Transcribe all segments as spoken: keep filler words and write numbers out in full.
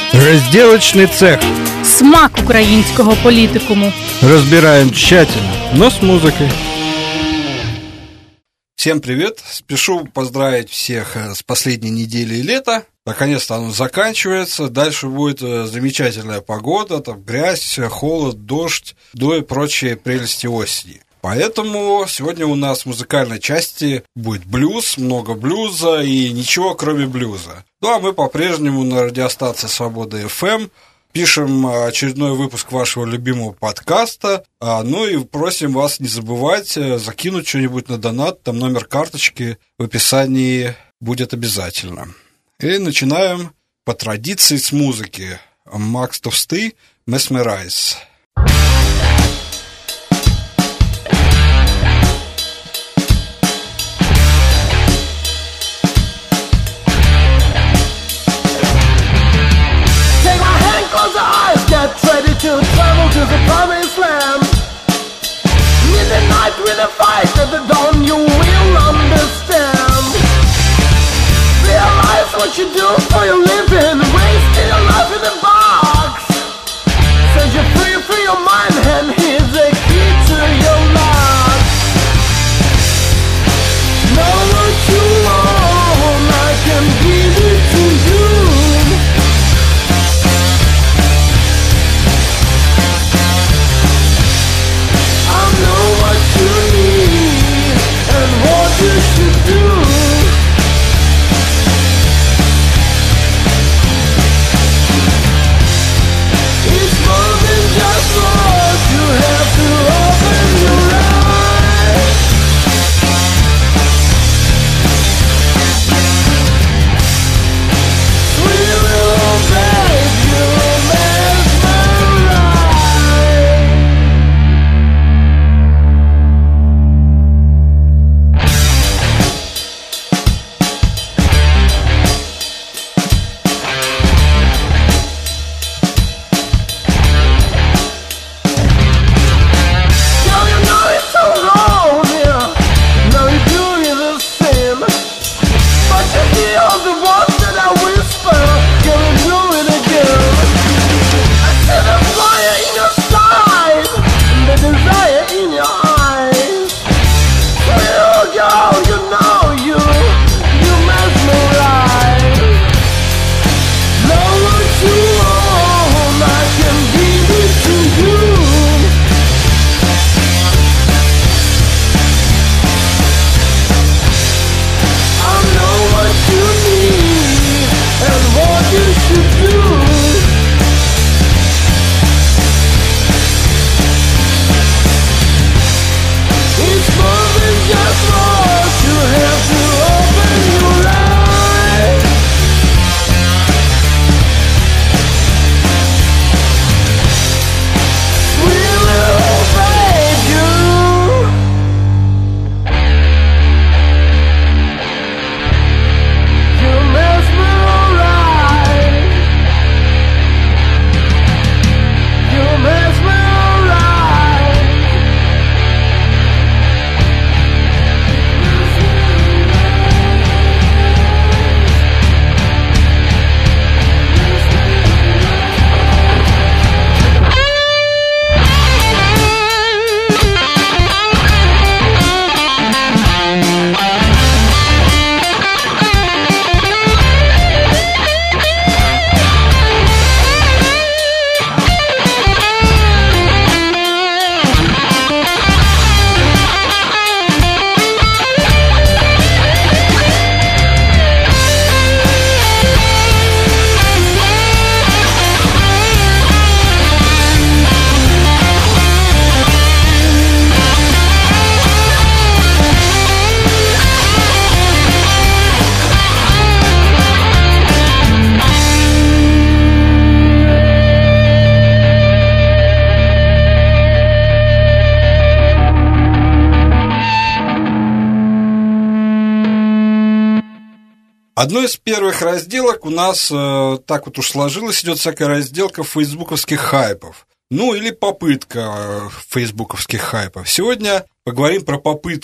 Разделочный цех. Смак українського політикуму. Разбираем тщательно, но с музыкой. Всем привет! Спешу поздравить всех с последней неделей лета. Наконец-то оно заканчивается. Дальше будет замечательная погода, там грязь, холод, дождь, да и прочие прелести осени. Поэтому сегодня у нас в музыкальной части будет блюз, много блюза и ничего кроме блюза. Ну а мы по-прежнему на радиостанции Свобода эф эм пишем очередной выпуск вашего любимого подкаста. Ну и просим вас не забывать закинуть что-нибудь на донат, там номер карточки в описании будет обязательно. И начинаем по традиции с музыки. Макс Товстый, Mesmerize. Get ready to travel to the promised land. In the night with a fight, at the dawn you will understand. Realize what you do for your living, wasting your life in a box. Set you free, free your mind, and here's the key to your lock. Know what you want, I can give it to you. You should do. It's more than just what you have to open your eyes. We will make you mesmerize. Одной из первых разделок у нас, э, так вот уж сложилось, идет всякая разделка фейсбуковских хайпов. Ну, или попытка э, фейсбуковских хайпов. Сегодня поговорим про попытку.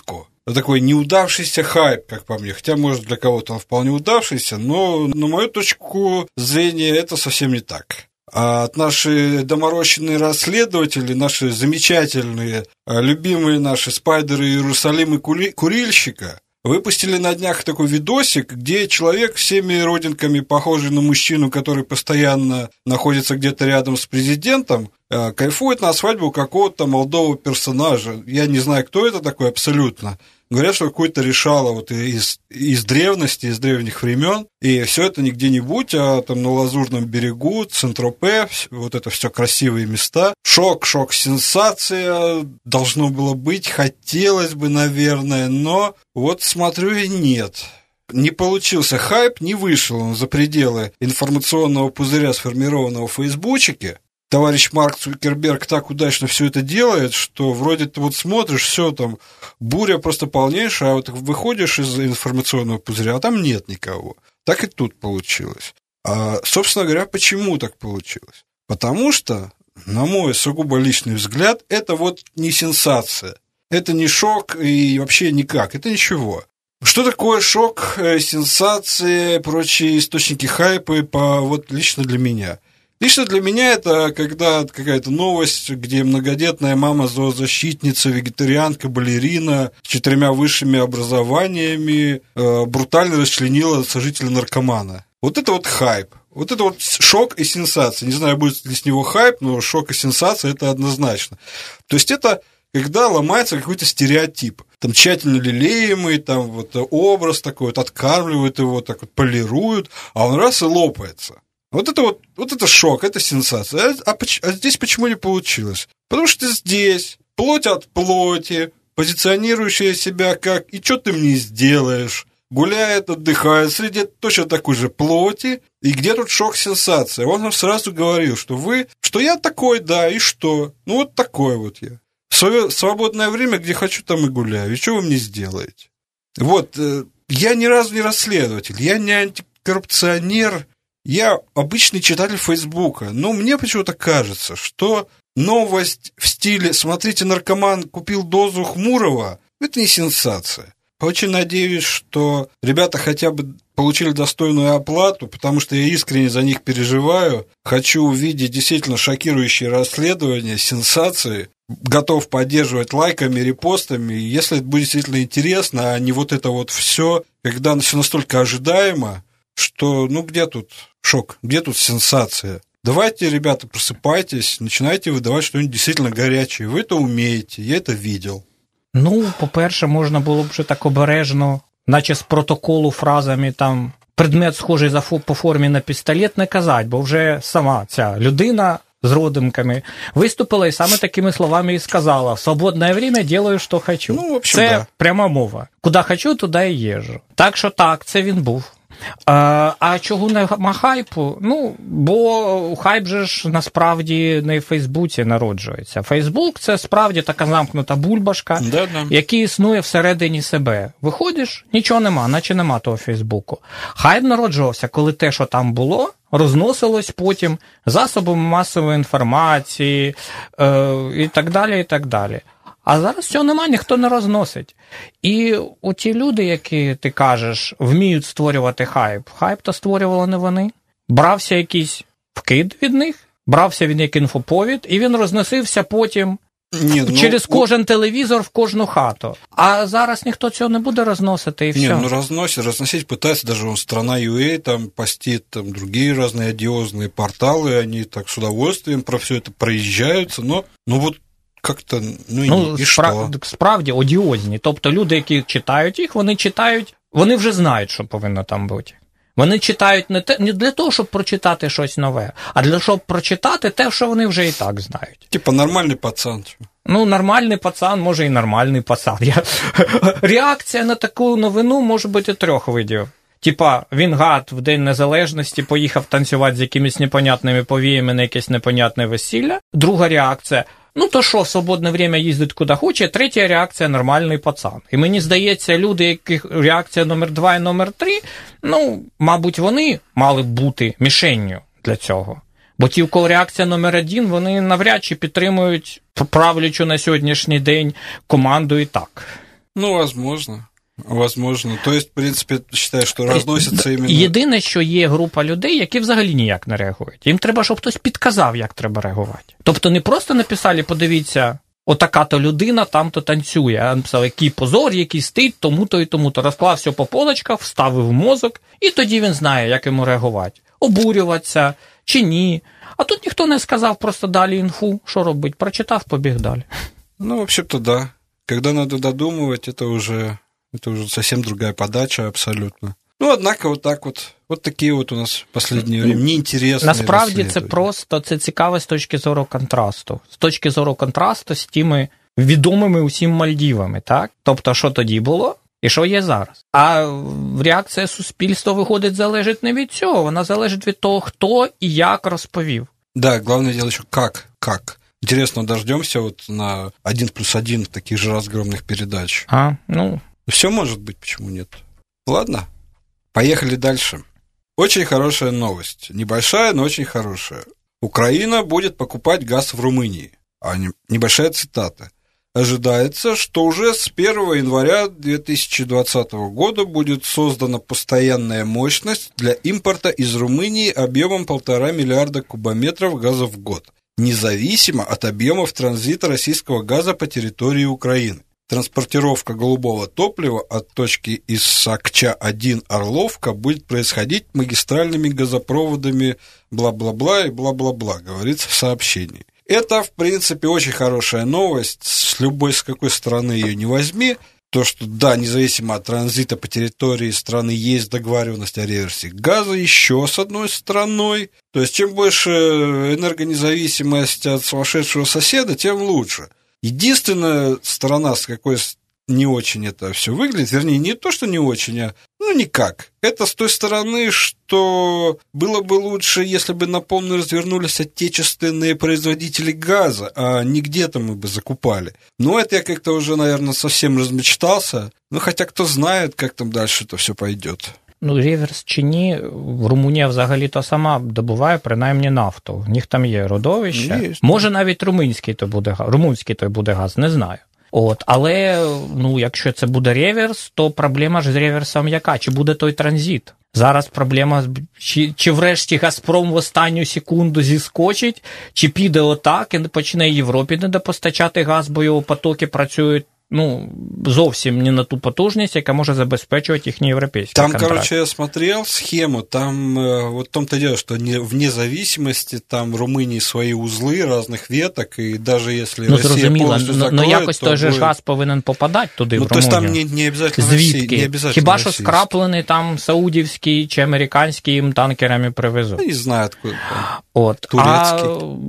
такой неудавшийся хайп, как по мне. Хотя, может, для кого-то он вполне удавшийся, но на мою точку зрения это совсем не так. А наши доморощенные расследователи, наши замечательные, любимые наши спайдеры Иерусалим и Курильщика, выпустили на днях такой видосик, где человек всеми родинками, похожий на мужчину, который постоянно находится где-то рядом с президентом, кайфует на свадьбу какого-то молодого персонажа. Я не знаю, кто это такой абсолютно. Говорят, что какой-то решало вот из, из древности, из древних времен, и все это не где-нибудь, а там на Лазурном берегу, Сент-Тропе, вот это все красивые места. Шок, шок, сенсация должно было быть, хотелось бы, наверное, но вот смотрю и нет. Не получился хайп, не вышел он за пределы информационного пузыря, сформированного в Фейсбучике. Товарищ Марк Цукерберг так удачно все это делает, что вроде ты вот смотришь, все там, буря просто полнейшая, а вот выходишь из информационного пузыря, а там нет никого. Так и тут получилось. А, собственно говоря, почему так получилось? Потому что, на мой сугубо личный взгляд, это вот не сенсация. Это не шок и вообще никак, это ничего. Что такое шок, сенсация, прочие источники хайпа по, вот лично для меня? Лично для меня это когда какая-то новость, где многодетная мама зоозащитница, вегетарианка, балерина с четырьмя высшими образованиями э, брутально расчленила сожителя-наркомана. Вот это вот хайп. Вот это вот шок и сенсация. Не знаю, будет ли с него хайп, но шок и сенсация – это однозначно. То есть это когда ломается какой-то стереотип. Там тщательно лелеемый, там вот образ такой, вот откармливают его, так вот полируют, а он раз и лопается. Вот это вот, вот это шок, это сенсация. А, а, а здесь почему не получилось? Потому что здесь плоть от плоти, позиционирующая себя как «и что ты мне сделаешь?» гуляет, отдыхает среди точно такой же плоти. И где тут шок-сенсация? Он нам сразу говорил, что вы, что я такой, да, и что? Ну вот такой вот я. В свое свободное время, где хочу, там и гуляю. И что вы мне сделаете? Вот, я ни разу не расследователь, я не антикоррупционер, я обычный читатель Фейсбука, но мне почему-то кажется, что новость в стиле «смотрите, наркоман купил дозу Хмурого» – это не сенсация. Очень надеюсь, что ребята хотя бы получили достойную оплату, потому что я искренне за них переживаю, хочу увидеть действительно шокирующие расследования, сенсации, готов поддерживать лайками, репостами, если это будет действительно интересно, а не вот это вот все, когда все настолько ожидаемо, что, ну, где тут шок, где тут сенсация? Давайте, ребята, просыпайтесь, начинайте выдавать что-нибудь действительно горячее. Вы это умеете, я это видел. Ну, по-перше, можна було б вже так обережно, наче з протоколу фразами там предмет схожий за по формі на пістолет не казати, бо вже сама ця людина з родимками виступила і саме такими словами і сказала: «В свободне время делаю, що хочу». Ну, в общем, це да. Пряма мова. Куди хочу, туди і їжджу. Так що так, це він був. А, а чого нема хайпу? Ну, бо хайп же ж насправді не в Фейсбуці народжується. Фейсбук – це справді така замкнута бульбашка, Да-да. яка існує всередині себе. Виходиш, нічого нема, наче нема того Фейсбуку. Хайп народжувався, коли те, що там було, розносилось потім засобами масової інформації е, і так далі, і так далі. А зараз цього нема, ніхто не розносить. І оті люди, які, ти кажеш, вміють створювати хайп, хайп-то створювали не вони. Брався якийсь вкид від них, брався він як інфоповід, і він розносився потім Ні, ну, через кожен телевізор в кожну хату. А зараз ніхто цього не буде розносити, і все. Ні, ну розносить, розносить пытается, даже он страна.ua там постит, там другие разные одиозные порталы, они так с удовольствием про все это проезжаются, но ну вот как-то, ну, ну і спра- що? Справді одіозні. Тобто люди, які читають їх, вони читають, вони вже знають, що повинно там бути. Вони читають не, те, не для того, щоб прочитати щось нове, а для того, щоб прочитати те, що вони вже і так знають. Типа нормальний пацан. Ну, нормальний пацан, може і нормальний пацан. Я... Реакція на таку новину може бути трьох видів. Типа, він гад в День Незалежності поїхав танцювати з якимись непонятними повіями на якесь непонятне весілля. Друга реакція – ну, то що, в свободне время їздить куди хоче. Третя реакція – нормальний пацан. І мені здається, люди, яких реакція номер два і номер три, ну, мабуть, вони мали б бути мішенню для цього. Бо ті, у кого реакція номер один, вони навряд чи підтримують правлячу на сьогоднішній день команду і так. Ну, возможно. Возможно. То есть, в принципі, вважаю, що розноситься іменно... Єдине, що є група людей, які взагалі ніяк не реагують. Їм треба, щоб хтось підказав, як треба реагувати. Тобто не просто написали, подивіться, отака-то людина там-то танцює, а написав, який позор, який стиль, тому-то і тому-то. Розклав все по полочках, вставив в мозок, і тоді він знає, як йому реагувати. Обурюватися чи ні. А тут ніхто не сказав, просто далі інфу, що робить, прочитав, побіг далі. Ну, вообще-то, да. Когда надо додумывать, это уже, это уже совсем другая подача абсолютно. Ну, однако, вот так вот, вот такі от у нас в останнє время неінтересні. Насправді це просто, це цікаво з точки зору контрасту. З точки зору контрасту з тими відомими усім Мальдівами, так? Тобто, що тоді було і що є зараз. А реакція суспільства, виходить, залежить не від цього, вона залежить від того, хто і як розповів. Да, главное дело еще как, как. Интересно, дождемся вот на один плюс один таких же разгромных передач. А, ну... Все может быть, почему нет? Ладно, поехали дальше. Очень хорошая новость. Небольшая, но очень хорошая. Украина будет покупать газ в Румынии. А не, небольшая цитата. Ожидается, что уже с первого января две тысячи двадцатого года будет создана постоянная мощность для импорта из Румынии объемом полтора миллиарда кубометров газа в год, независимо от объемов транзита российского газа по территории Украины. Транспортировка голубого топлива от точки Исакча один Орловка будет происходить магистральными газопроводами бла-бла-бла и бла-бла-бла, говорится в сообщении. Это, в принципе, очень хорошая новость, с любой, с какой стороны ее не возьми. То, что, да, независимо от транзита по территории страны есть договоренность о реверсе газа еще с одной стороной. То есть, чем больше энергонезависимость от сумасшедшего соседа, тем лучше. Единственная сторона, с какой не очень это все выглядит, вернее, не то, что не очень, а ну никак. Это с той стороны, что было бы лучше, если бы на полную развернулись отечественные производители газа, а не где-то мы бы закупали. Но это я как-то уже, наверное, совсем размечтался. Ну, хотя кто знает, как там дальше это все пойдет. Ну, реверс чи ні, Румунія взагалі-то сама добуває, принаймні, нафту. У них там є родовище. Є. Може, навіть румунський то буде газ, румунський то буде газ, не знаю. От, але, ну, якщо це буде реверс, то проблема ж з реверсом яка? Чи буде той транзит? Зараз проблема, чи, чи врешті Газпром в останню секунду зіскочить, чи піде отак і почне Європі недопостачати газ, бо його потоки працюють, ну, зовсім не на ту потужність, яка може забезпечувати їхні європейські там, контракти. Там, короче, я смотрел схему, там вот в том-то дело, что не, вне зависимости, там в Румынии свои узлы разных веток, и даже если ну, Россия полностью закроет, но якось то той же будет... газ повинен попадати туди, ну, в Румунію. Ну, то есть там не, не обязательно Звідки? Росії, не обязательно Хіба що російський. скраплений там саудівський чи американський їм танкерами привезуть. Ну, не знаю, откуда там. От. Турецький.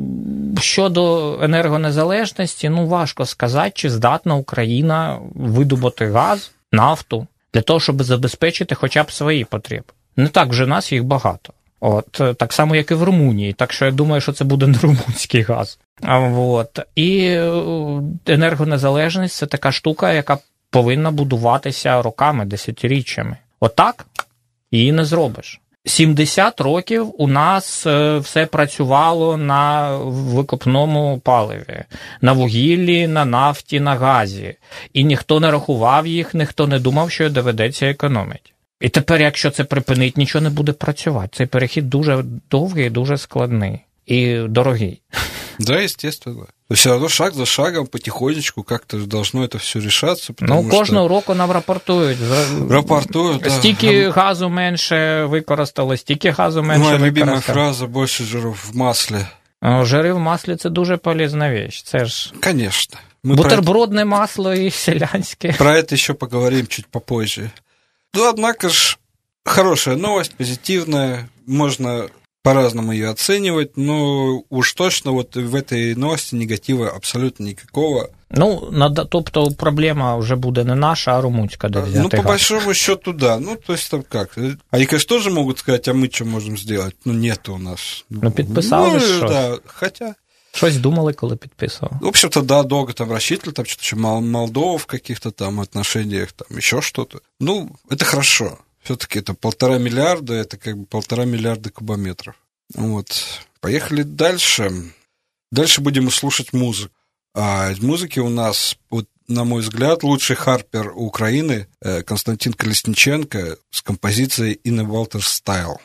А щодо енергонезалежності, ну, важко сказати, чи здатна Україна видобути газ, нафту, для того, щоб забезпечити хоча б свої потреби. Не так вже нас їх багато. От, так само, як і в Румунії. Так що я думаю, що це буде не румунський газ. От. І енергонезалежність – це така штука, яка повинна будуватися роками, десятиріччями. Отак її не зробиш. сімдесят років у нас все працювало на викопному паливі, на вугіллі, на нафті, на газі. І ніхто не рахував їх, ніхто не думав, що доведеться економити. І тепер, якщо це припинить, нічого не буде працювати. Цей перехід дуже довгий, дуже складний і дорогий. Да, естественно. Все равно шаг за шагом, потихонечку как-то должно это все решаться. Ну, кожного що... року нам рапортують. Рапортують, да. Стільки газу менше використали, стільки газу менше Моя використали. Моя любима фраза «больше жиров в маслі». Жири в маслі – це дуже полезна вещь. Це ж... Конечно. Мы бутербродне это... масло і селянське. Про это еще поговорим чуть попозже. Ну, однако ж, хорошая новость, позитивная, можно по-разному ее оценивать, но уж точно вот в этой новости негатива абсолютно никакого. Ну, надо, тобто проблема вже буде не наша, а румунська, де взяти Ну, по газ. большому счету, да. Ну, то есть там как? Они, конечно, тоже могут сказать, а мы что можем сделать? Ну, нет у нас. Ну, підписали ну, щось. Да, хотя... Щось думали, коли підписували. В общем-то, да, долго там рассчитывали, там что-то еще Молдова в каких-то там отношениях, там еще что-то. Ну, это хорошо. Все-таки это полтора миллиарда, это как бы полтора миллиарда кубометров. Вот. Поехали дальше. Дальше будем слушать музыку. А из музыки у нас, вот, на мой взгляд, лучший харпер Украины Константин Колесниченко с композицией «In a Walter Style».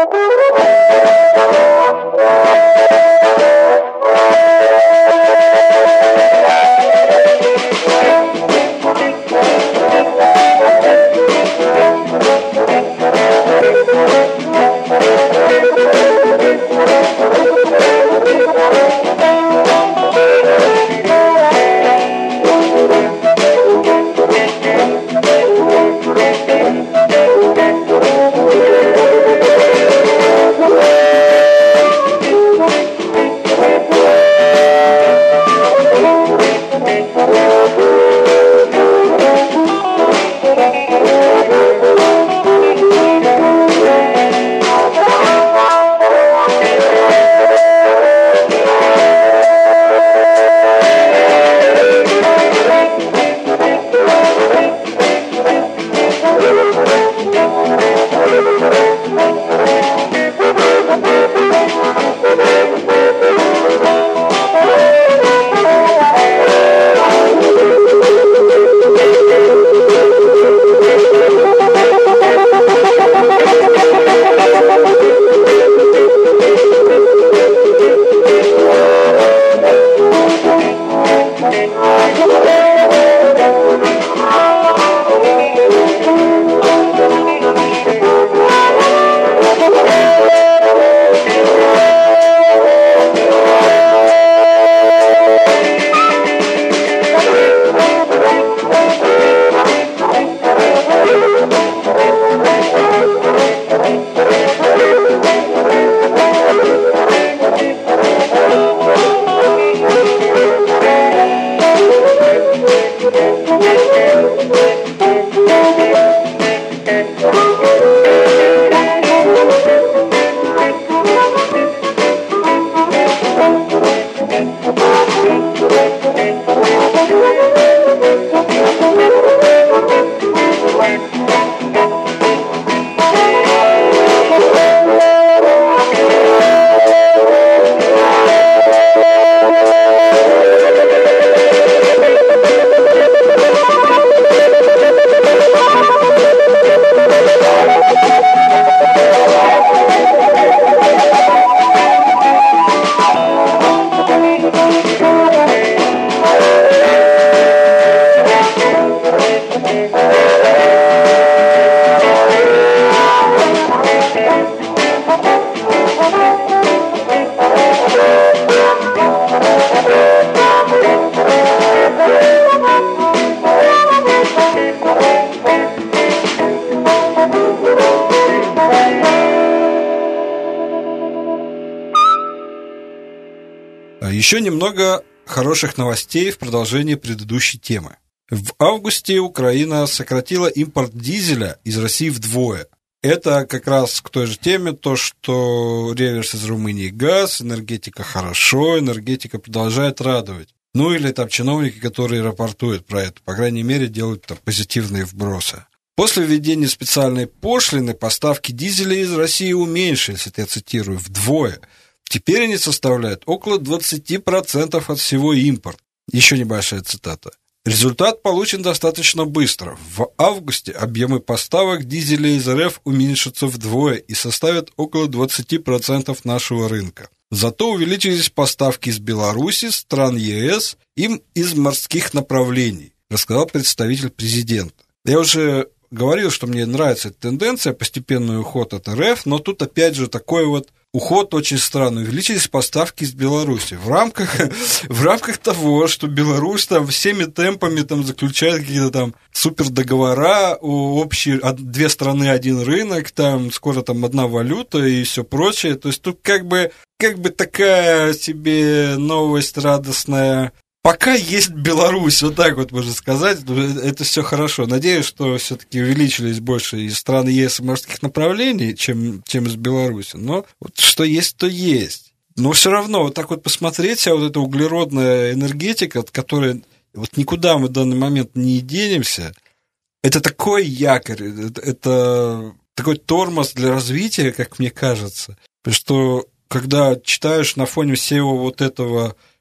Еще немного хороших новостей в продолжении предыдущей темы. В августе Украина сократила импорт дизеля из России вдвое. Это как раз к той же теме, то, что реверс из Румынии газ, энергетика хорошо, энергетика продолжает радовать. Ну или там чиновники, которые рапортуют про это, по крайней мере, делают там позитивные вбросы. После введения специальной пошлины поставки дизеля из России уменьшились, это я цитирую, вдвое. Теперь они составляют около двадцать процентов от всего импорта. Еще небольшая цитата. Результат получен достаточно быстро. В августе объемы поставок дизеля из РФ уменьшатся вдвое и составят около двадцать процентов нашего рынка. Зато увеличились поставки из Беларуси, стран ЕС и из морских направлений, рассказал представитель президента. Я уже говорил, что мне нравится эта тенденция, постепенный уход от РФ, но тут опять же такой вот уход очень странный. Увеличились поставки из Беларуси в рамках, в рамках того, что Беларусь там всеми темпами там заключает какие-то там супердоговора, общие, две страны, один рынок, там скоро там одна валюта и все прочее. То есть тут как бы, как бы такая себе новость радостная. Пока есть Беларусь, вот так вот можно сказать, это все хорошо. Надеюсь, что все-таки увеличились больше из стран ЕС и морских направлений, чем, чем из Беларуси. Но вот что есть, то есть. Но все равно вот так вот посмотреть, а вот эта углеродная энергетика, от которой вот никуда мы в данный момент не денемся, это такой якорь, это, это такой тормоз для развития, как мне кажется. Потому что когда читаешь на фоне всего вот этого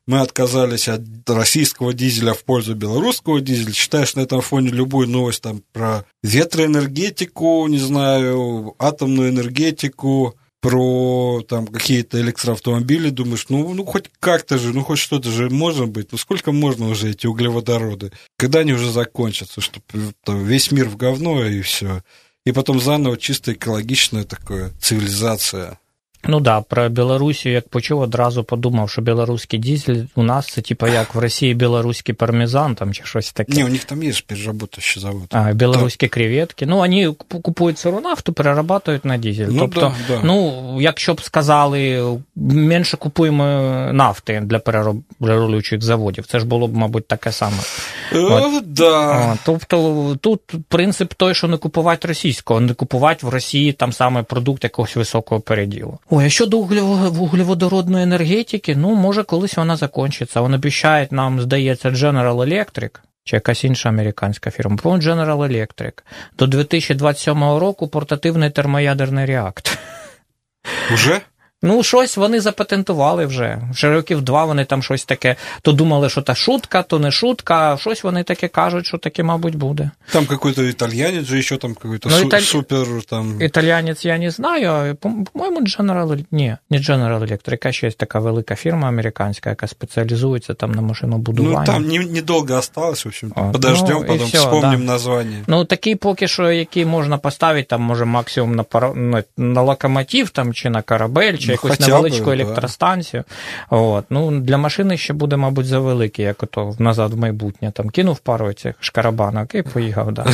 мы отказались от российского дизеля в пользу белорусского дизеля. Считаешь на этом фоне любую новость там, про ветроэнергетику, не знаю, атомную энергетику, про там, какие-то электроавтомобили, думаешь, ну, ну хоть как-то же, ну хоть что-то же может быть. Ну сколько можно уже эти углеводороды? Когда они уже закончатся, чтобы весь мир в говно и все. И потом заново чисто экологичная такая цивілізація. Ну да, про Білорусію, як почув, одразу подумав, що білоруський дизель у нас це типу як в Росії білоруський пармезан там чи щось таке. Ні, у них там є ж переработаючий завод. А, білоруські креветки. Ну, вони купують сиру нафту, перерабатують на дизель. Ну, тобто, да, да. ну, якщо б сказали, менше купуємо нафти для перероблюючих заводів, це ж було б, мабуть, таке саме. О, да. О, тобто, тут принцип той, що не купувати російського, не купувати в Росії там саме продукт якогось високого переділу. Ой, а щодо вуглеводородної енергетики, ну, може, колись вона закінчиться. Вони обіцяють нам, здається, General Electric, чи якась інша американська фірма, по-моєму, General Electric, до дві тисячі двадцять сьомого року портативний термоядерний реактор. Уже? Ну, щось вони запатентували вже. Вже років два вони там щось таке, то думали, що та шутка, то не шутка, щось вони таке кажуть, що таке, мабуть, буде. Там какой-то итальянец же еще там какой-то ну, су- італь... супер там... Італіянець я не знаю, а, по-моєму, General... Ні, не General Electric, а ще є така велика фірма американська, яка спеціалізується там на машинобудуванні. Ну, там не, недовго осталось, в общем. О, подождем, ну, потом все, вспомним да. название. Ну, такі поки що, які можна поставити, там, може, максимум на, пар... на, на локомотив, там, чи на корабель, чи ну, якусь невеличку електростанцію. Да. От. Ну, для машини ще буде, мабуть, завеликий, як ото назад в майбутнє. Там кинув пару цих шкарабанок і поїхав, да.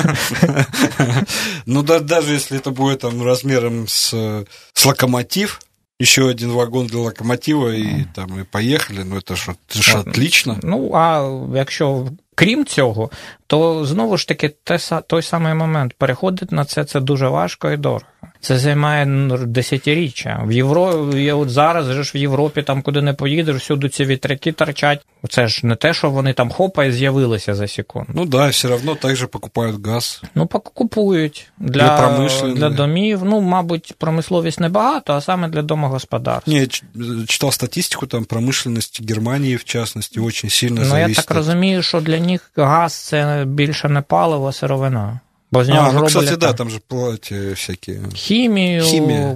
Ну, даже если это будет там размером с, с локомотив, еще один вагон для локомотива, и там и поехали, ну, это ж, это ж отлично. Ну, а якщо крім цього, то знову ж таки той самий момент. Переходити на це, це дуже важко і дорого. Це займає десятиріччя. В Європі, от зараз же ж в Європі, там куди не поїдеш, всюди ці вітряки торчать. Це ж не те, що вони там хопа і з'явилися за секунду. Ну да, все одно так же покупають газ. Ну, покупують. Для, для домів. Ну, мабуть, промисловість небагато, а саме для домогосподарств. Ні, я читав статистику, там промишленість Германії, в частності, дуже сильно ну, зависить. Ну, я так розумію, що для них газ – це більше не паливо, а сировина. Бо з нього а, ну, кстати, там, да, там же платять всякі... Хімію, Хімія.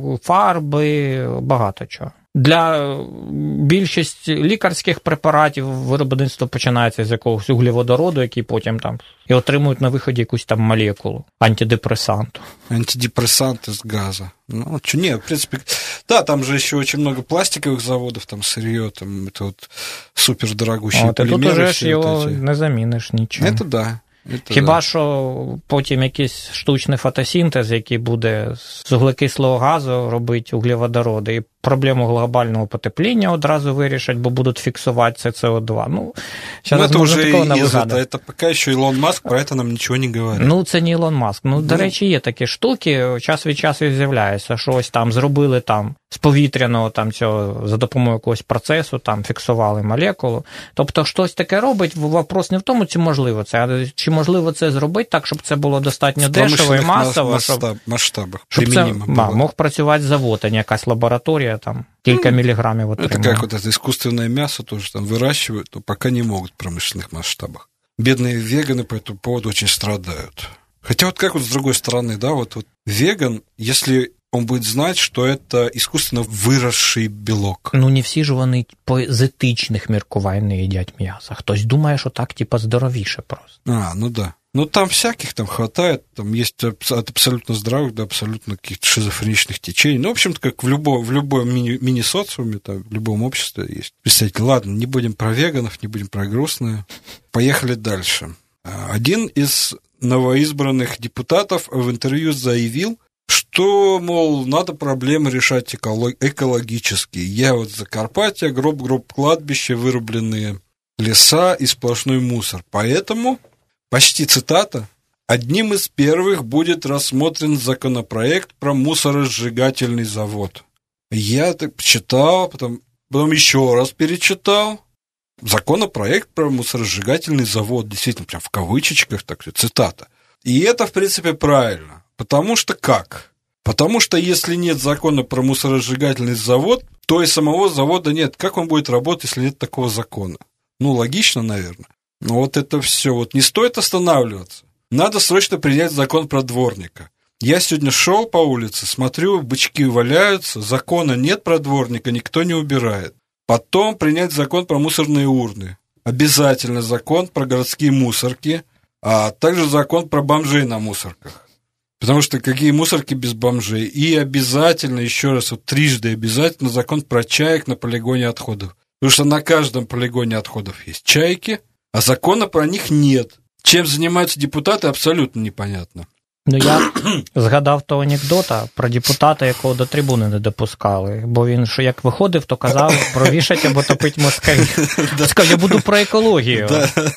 фарби, багато чого. Для більшості лікарських препаратів виробництво починається з якогось углеводороду, який потім там і отримують на виході якусь там молекулу, антидепрессанту. Антидепрессант из газа. Ну, что, нет, в принципе, да, там же еще очень много пластиковых заводов, там сырье, там это вот супердорогущие полимеры. Тут уже ж його не заміниш нічим. Это да. Это Хіба да. що потім якийсь штучний фотосинтез, який буде з вуглекислого газу робити углеводороди, і проблему глобального потепління одразу вирішать, бо будуть фіксувати це С О два. Ну, ну це вже із це, це поки що Ілон Маск про це нам нічого не говорить. Ну, це не Ілон Маск. Ну, до речі, є такі штуки, час від часу з'являється, що ось там зробили там з повітряного там цього, за допомогою якогось процесу, там фіксували молекулу. Тобто, щось таке робить, вопрос не в тому, чи можливо це, а чи можливо це зробити так, щоб це було достатньо дешево і масово, масштаб, щоб, масштабах, щоб це ма, мог працювати завод, а не якась лабораторія, там, кілька ну, міліграмів отримує. Это как вот это искусственное мясо тоже там выращивают, но пока не могут в промышленных масштабах. Бедные веганы по этому поводу очень страдают. Хотя вот как вот с другой стороны, да, вот, вот веган, если он будет знать, что это искусственно выросший белок. Ну, не всі ж вони з етичних міркувань не їдять м'ясо. Хтось думає, що так, типа, здоровіше просто. А, ну да. Ну, там всяких там хватает, там есть от абсолютно здравых до абсолютно каких-то шизофреничных течений. Ну, в общем-то, как в, любо, в любом мини, мини-социуме, там, в любом обществе есть представители. Ладно, не будем про веганов, не будем про грустное. Поехали дальше. Один из новоизбранных депутатов в интервью заявил, что, мол, надо проблемы решать экологически. Я вот Закарпатье, гроб-гроб кладбище, вырубленные леса и сплошной мусор. Поэтому... Почти цитата. «Одним из первых будет рассмотрен законопроект про мусоросжигательный завод». Я так читал, потом, потом еще раз перечитал. Законопроект про мусоросжигательный завод. Действительно, прям в кавычечках, так цитата. И это, в принципе, правильно. Потому что как? Потому что если нет закона про мусоросжигательный завод, то и самого завода нет. Как он будет работать, если нет такого закона? Ну, логично, наверное. Но вот это все. Вот не стоит останавливаться. Надо срочно принять закон про дворника. Я сегодня шел по улице, смотрю, бычки валяются, закона нет про дворника, никто не убирает. Потом принять закон про мусорные урны. Обязательно закон про городские мусорки, а также закон про бомжей на мусорках. Потому что какие мусорки без бомжей? И обязательно, еще раз, вот трижды обязательно закон про чаек на полигоне отходов. Потому что на каждом полигоне отходов есть чайки, а закона про них нет. Чем занимаются депутаты, абсолютно непонятно. Ну, я згадав того анекдота про депутата, якого до трибуни не допускали, бо він, що як виходив, то казав про вішать або топить москалів. Сказав, я буду про екологію.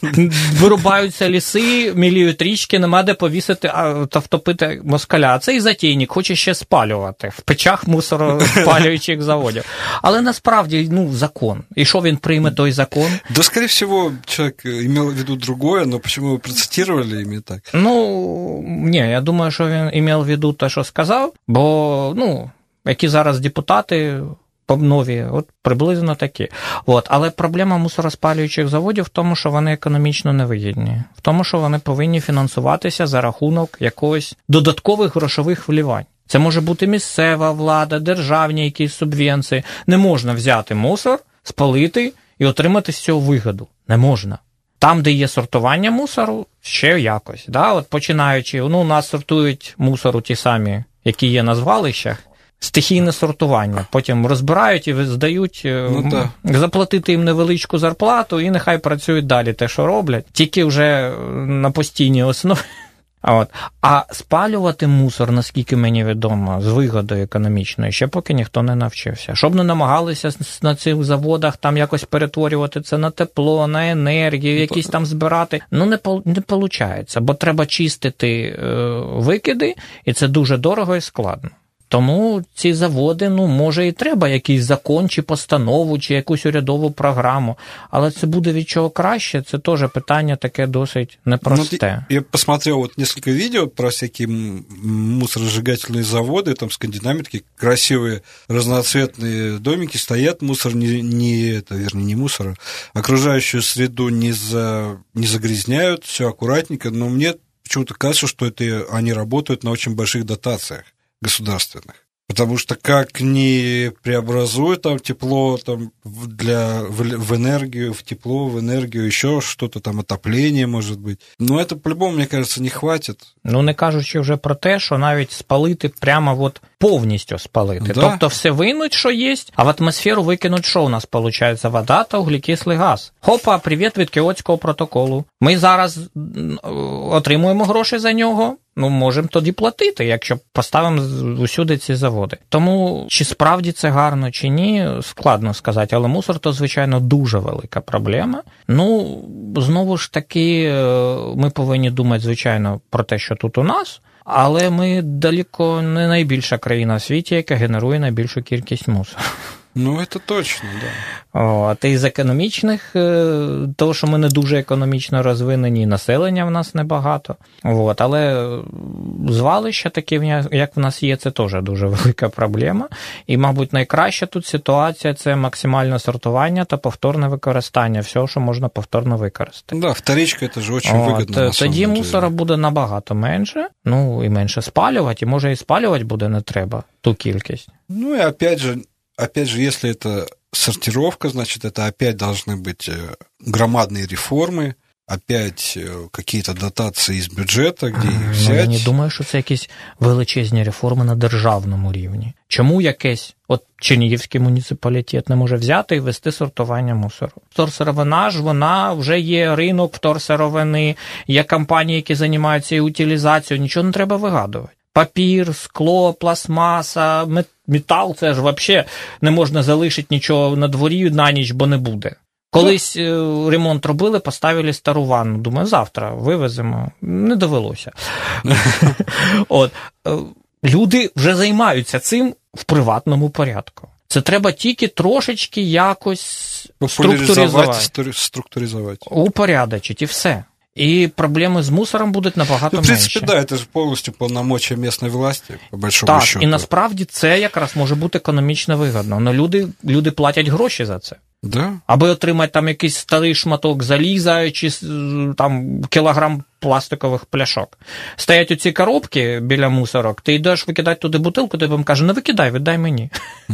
Вирубаються ліси, міліють річки, нема де повісити та втопити москаля. А цей затейник хоче ще спалювати в печах мусороспалюючих заводів. Але насправді, ну, закон. І що він прийме той закон? Да, скорее всего, человек имел в виду другое, но почему вы процитировали именно так? Ну, ні, я думаю, що він імел в виду те, що сказав, бо, ну, які зараз депутати нові, от приблизно такі. От. Але проблема мусороспалюючих заводів в тому, що вони економічно невигідні. В тому, що вони повинні фінансуватися за рахунок якогось додаткових грошових вливань. Це може бути місцева влада, державні якісь субвенції. Не можна взяти мусор, спалити і отримати з цього вигоду. Не можна. Там, де є сортування мусору, ще якось. Да? От починаючи, ну, у нас сортують мусору ті самі, які є на звалищах, стихійне сортування. Потім розбирають і здають, ну, заплатити їм невеличку зарплату, і нехай працюють далі те, що роблять, тільки вже на постійній основі. От. А спалювати мусор, наскільки мені відомо, з вигодою економічною, ще поки ніхто не навчився. Щоб не намагалися на цих заводах там якось перетворювати це на тепло, на енергію, якісь там збирати, ну не, не виходить, бо треба чистити е, викиди, і це дуже дорого і складно. Тому ці заводи, ну, може і треба якийсь закон, чи постанову, чи якусь урядову програму, але це буде від чого краще, це теж питання таке досить непросте. Ну, я посмотрел вот несколько видео про всякие мусоросжигательные заводы, там скандинавы, такие красивые разноцветные домики стоят, мусор не, не это, вернее, не мусор, окружающую среду не, за, не загрязняют, все аккуратненько, но мне почему-то кажется, что это они работают на очень больших дотациях государственных. Потому что как ни преобразуют там тепло там, для, в, в энергию, в тепло, в энергию, еще что-то там, отопление, может быть. Но это, по-любому, мне кажется, не хватит. Ну, не кажучи вже про те, що навіть спалити прямо от повністю спалити. Да. Тобто все винуть, що є, а в атмосферу викинуть, що у нас виходить? Вода та углекислий газ. Хопа, привіт від Кіотського протоколу. Ми зараз отримуємо гроші за нього, ну, можемо тоді платити, якщо поставимо усюди ці заводи. Тому, чи справді це гарно, чи ні, складно сказати. Але мусор – то, звичайно, дуже велика проблема. Ну, знову ж таки, ми повинні думати, звичайно, про те, що тут у нас, але ми далеко не найбільша країна в світі, яка генерує найбільшу кількість мусору. Ну, це точно, так. Да. От, і з економічних, того, що ми не дуже економічно розвинені, населення в нас небагато. От, але звалища такі, як в нас є, це теж дуже велика проблема. І, мабуть, найкраща тут ситуація – це максимальне сортування та повторне використання всього, що можна повторно використати. Так, да, вторичка – це ж дуже вигідно. От, тоді мусора буде набагато менше, ну, і менше спалювати, і, може, і спалювати буде не треба ту кількість. Ну, і, опять же, Опять же, если это сортировка, значит, это опять должны быть громадные реформы, опять какие-то дотации из бюджета, где їх взяти. Ну, я не думаю, що це якісь величезні реформи на державному рівні. Чому якесь, от Чернігівський муніципалітет не може взяти і вести сортування мусору? Вторсировина ж, вона вже є ринок вторсировини, є компанії, які займаються і утилізацією, нічого не треба вигадувати. Папір, скло, пластмаса, метал, це ж взагалі не можна залишити нічого на дворі на ніч, бо не буде. Колись ремонт робили, поставили стару ванну. Думаю, завтра вивеземо. Не довелося. От. Люди вже займаються цим в приватному порядку. Це треба тільки трошечки якось структуризувати. структуризувати. Упорядочити і все. и проблемы с мусором будуть набагато ну, в принципі, менші. да, це ж повністю повномочия місцевої власті, по большому Так, счету. і насправді це якраз може бути економічно вигідно. Но люди, люди платять гроші за це. Да? Аби отримати там якийсь старий шматок заліза чи там кілограм пластикових пляшок. Стоять оці коробки біля мусорок, ти йдеш викидати туди бутилку, ти їм каже, не викидай, віддай мені.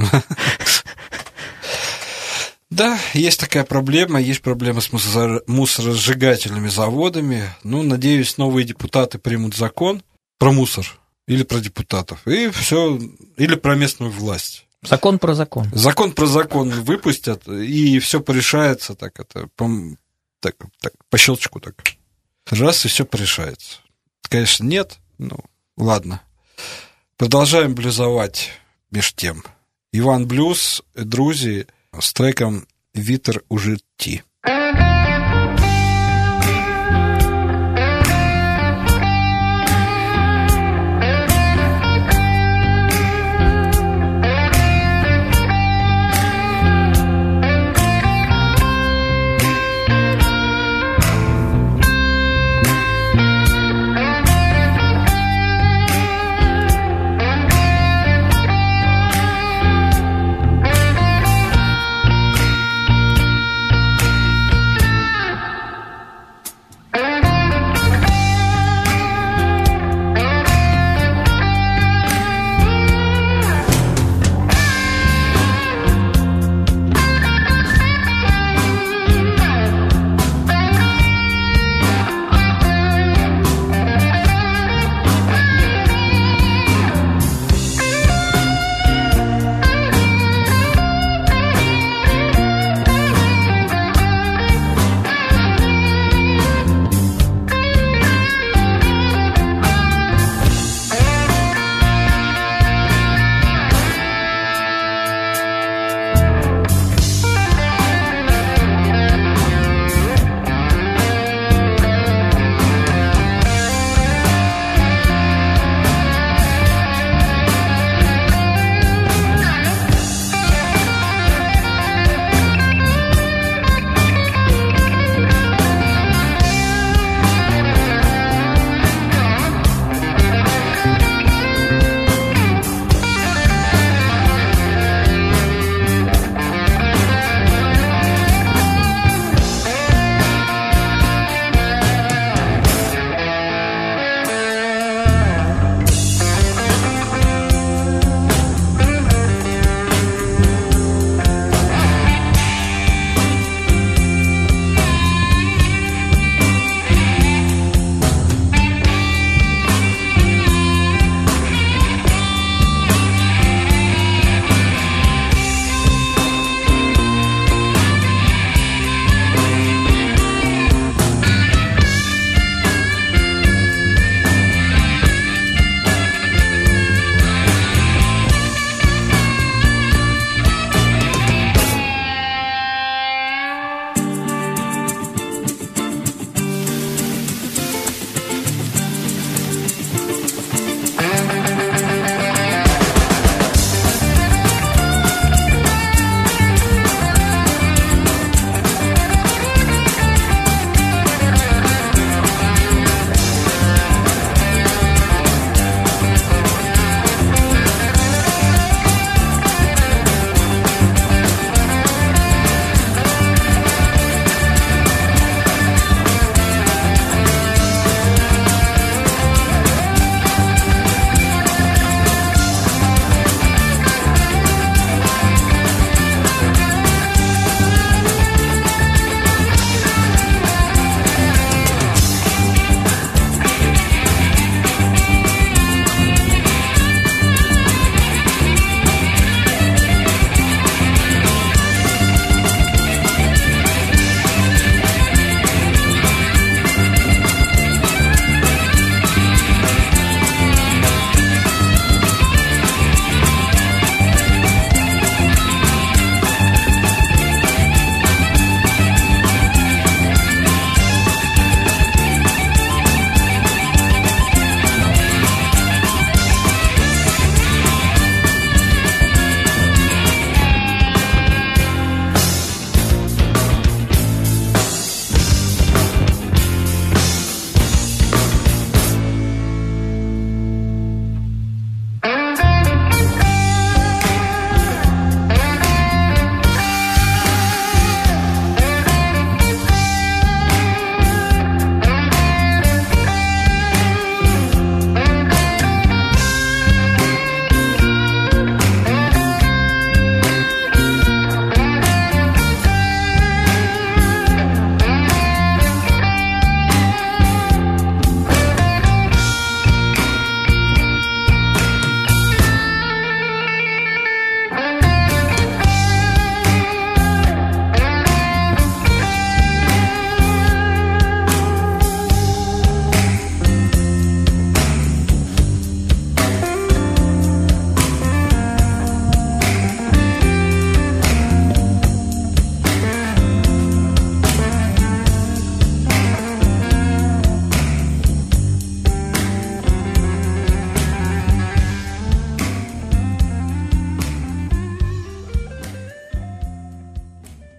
Да, есть такая проблема, есть проблема с мусор- мусоросжигательными заводами. Ну, надеюсь, новые депутаты примут закон про мусор или про депутатов, и все, или про местную власть. Закон про закон. Закон про закон выпустят, и все порешается так, это, по, так, так, по щелчку так. Раз, и все порешается. Конечно, нет, ну, ладно. Продолжаем блюзовать меж тем. Иван Блюз, друзі, с треком «Вітер у житті».